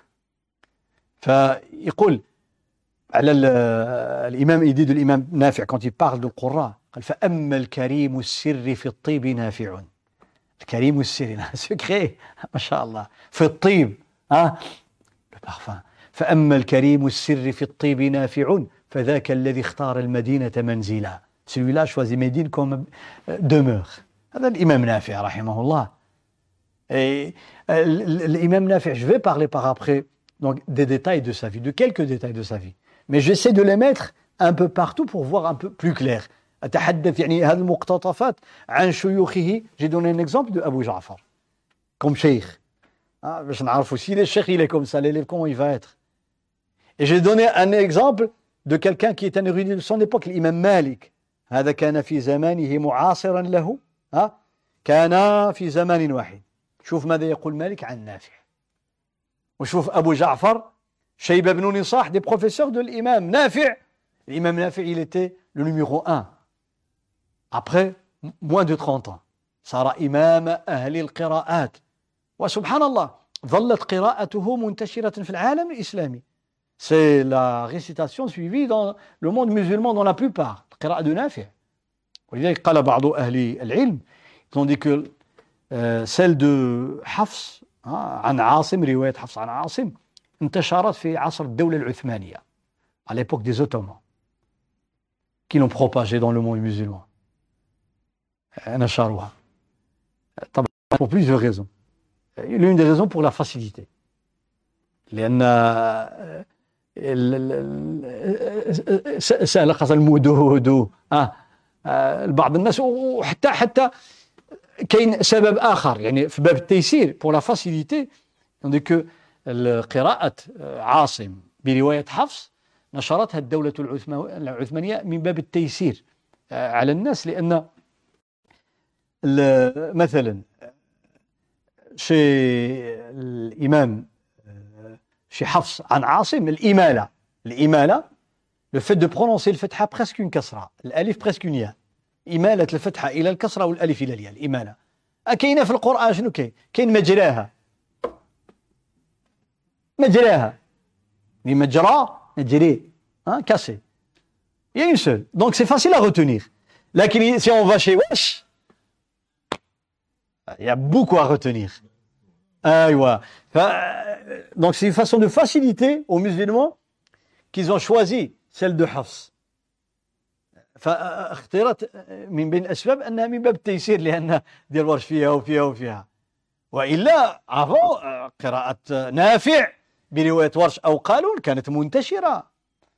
فيقول على الإمام يدي de l'imam نافع quand il parle du Coran قال فأما الكريم السر في الطيب نافع. الكريم السر secret ما شاء الله في الطيب le parfum. فأما الكريم السر في الطيب نافع فذاك الذي اختار المدينة منزلا. Celui-là choisit Médine comme demeure. هذا الإمام نافع رحمه الله. Et l'imam Nafi', je vais parler par après donc, des détails de sa vie, de quelques détails de sa vie. Mais j'essaie de les mettre un peu partout pour voir un peu plus clair. أتحدث يعني هذه المقتطفات عن شيوخه. J'ai donné un exemple de Abu Ja'far comme cheikh. باش نعرفوا si le cheikh il est comme ça, l'élève comment il va être. Et j'ai donné un exemple de quelqu'un qui est un érudit de son époque, l'imam Malik. هذا كان في زمانه معاصرا له كان في زمان واحد. شوف ماذا يقول مالك عن نافع. وشوف أبو جعفر شيبة بن نصاح des professeurs de l'imam Nafi'. L'imam Nafi' il était le numéro 1. Après moins de 30 ans صار إمام أهل القراءات. وسبحان الله ظلت قراءته منتشرة في العالم الإسلامي. C'est la récitation suivie dans le monde musulman dans la plupart. القراءة de نافع. ولذلك قال بعض أهل العلم ils ont dit que celle de حفص عن عاصم رواية حفص عن عاصم انتشرت في عصر الدولة العثمانية à l'époque des Ottomans qui l'ont propagée dans le monde musulman. نشروها. طبعا pour plusieurs raisons. L'une des raisons pour la facilité. لأن سهل خاصة المدود بعض الناس وحتى كاين سبب آخر يعني في باب التيسير pour la facilité on dit que قراءة عاصم برواية حفص نشرتها الدولة العثمانية من باب التيسير على الناس لأن مثلا شي الإمام شي حفص عن عاصم الإمالة le fait de prononcer الفتحة presque une كسرة الألف presque une ياء إمالة الفتحة إلى الكسرة والألف إلى الياء الإمالة كاينة في القرآن شنو كاين مجراها مجرى نجري cassé il y a une seule donc c'est facile à retenir لكن si on va chez Wesh il y a beaucoup à retenir donc c'est une façon de faciliter aux musulmans qu'ils ont choisi celle de Hafs فاختيرت من بين الأسباب أنها من باب التيسير لأن ديال ورش فيها وإلا avant قراءة نافع برواية ورش أو قالون كانت منتشرة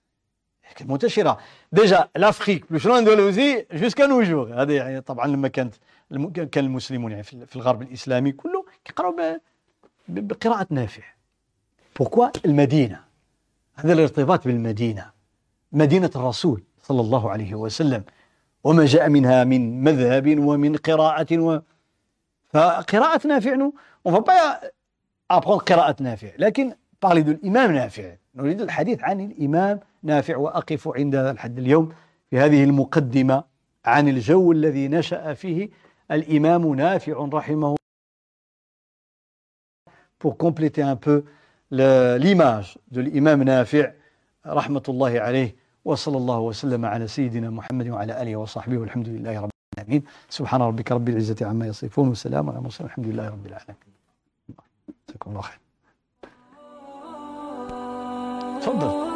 déjà l'Afrique plus loin de l'Asie jusqu'à nos jours هذا يعني طبعا لما كان المسلمون يعني في الغرب الإسلامي كله يقرأوا بقراءة نافع. pourquoi المدينة هذا الارتباط بالمدينة مدينة الرسول صلى الله عليه وسلم وما جاء منها من مذهب ومن قراءة فقراءة نافع on va pas apprendre قراءة نافع لكن parler de الإمام نافع نريد الحديث عن الإمام نافع وأقف عند هذا الحد اليوم في هذه المقدمة عن الجو الذي نشأ فيه الإمام نافع رحمه الله pour compléter un peu l'image de l'imam نافع رحمة الله عليه وصلى الله وسلم على سيدنا محمد وعلى آله وصحبه والحمد لله رب العالمين سبحان ربك رب العزة عما يصفون وسلام على المرسلين الحمد لله رب العالمين. جزاكم الله خير. تفضل.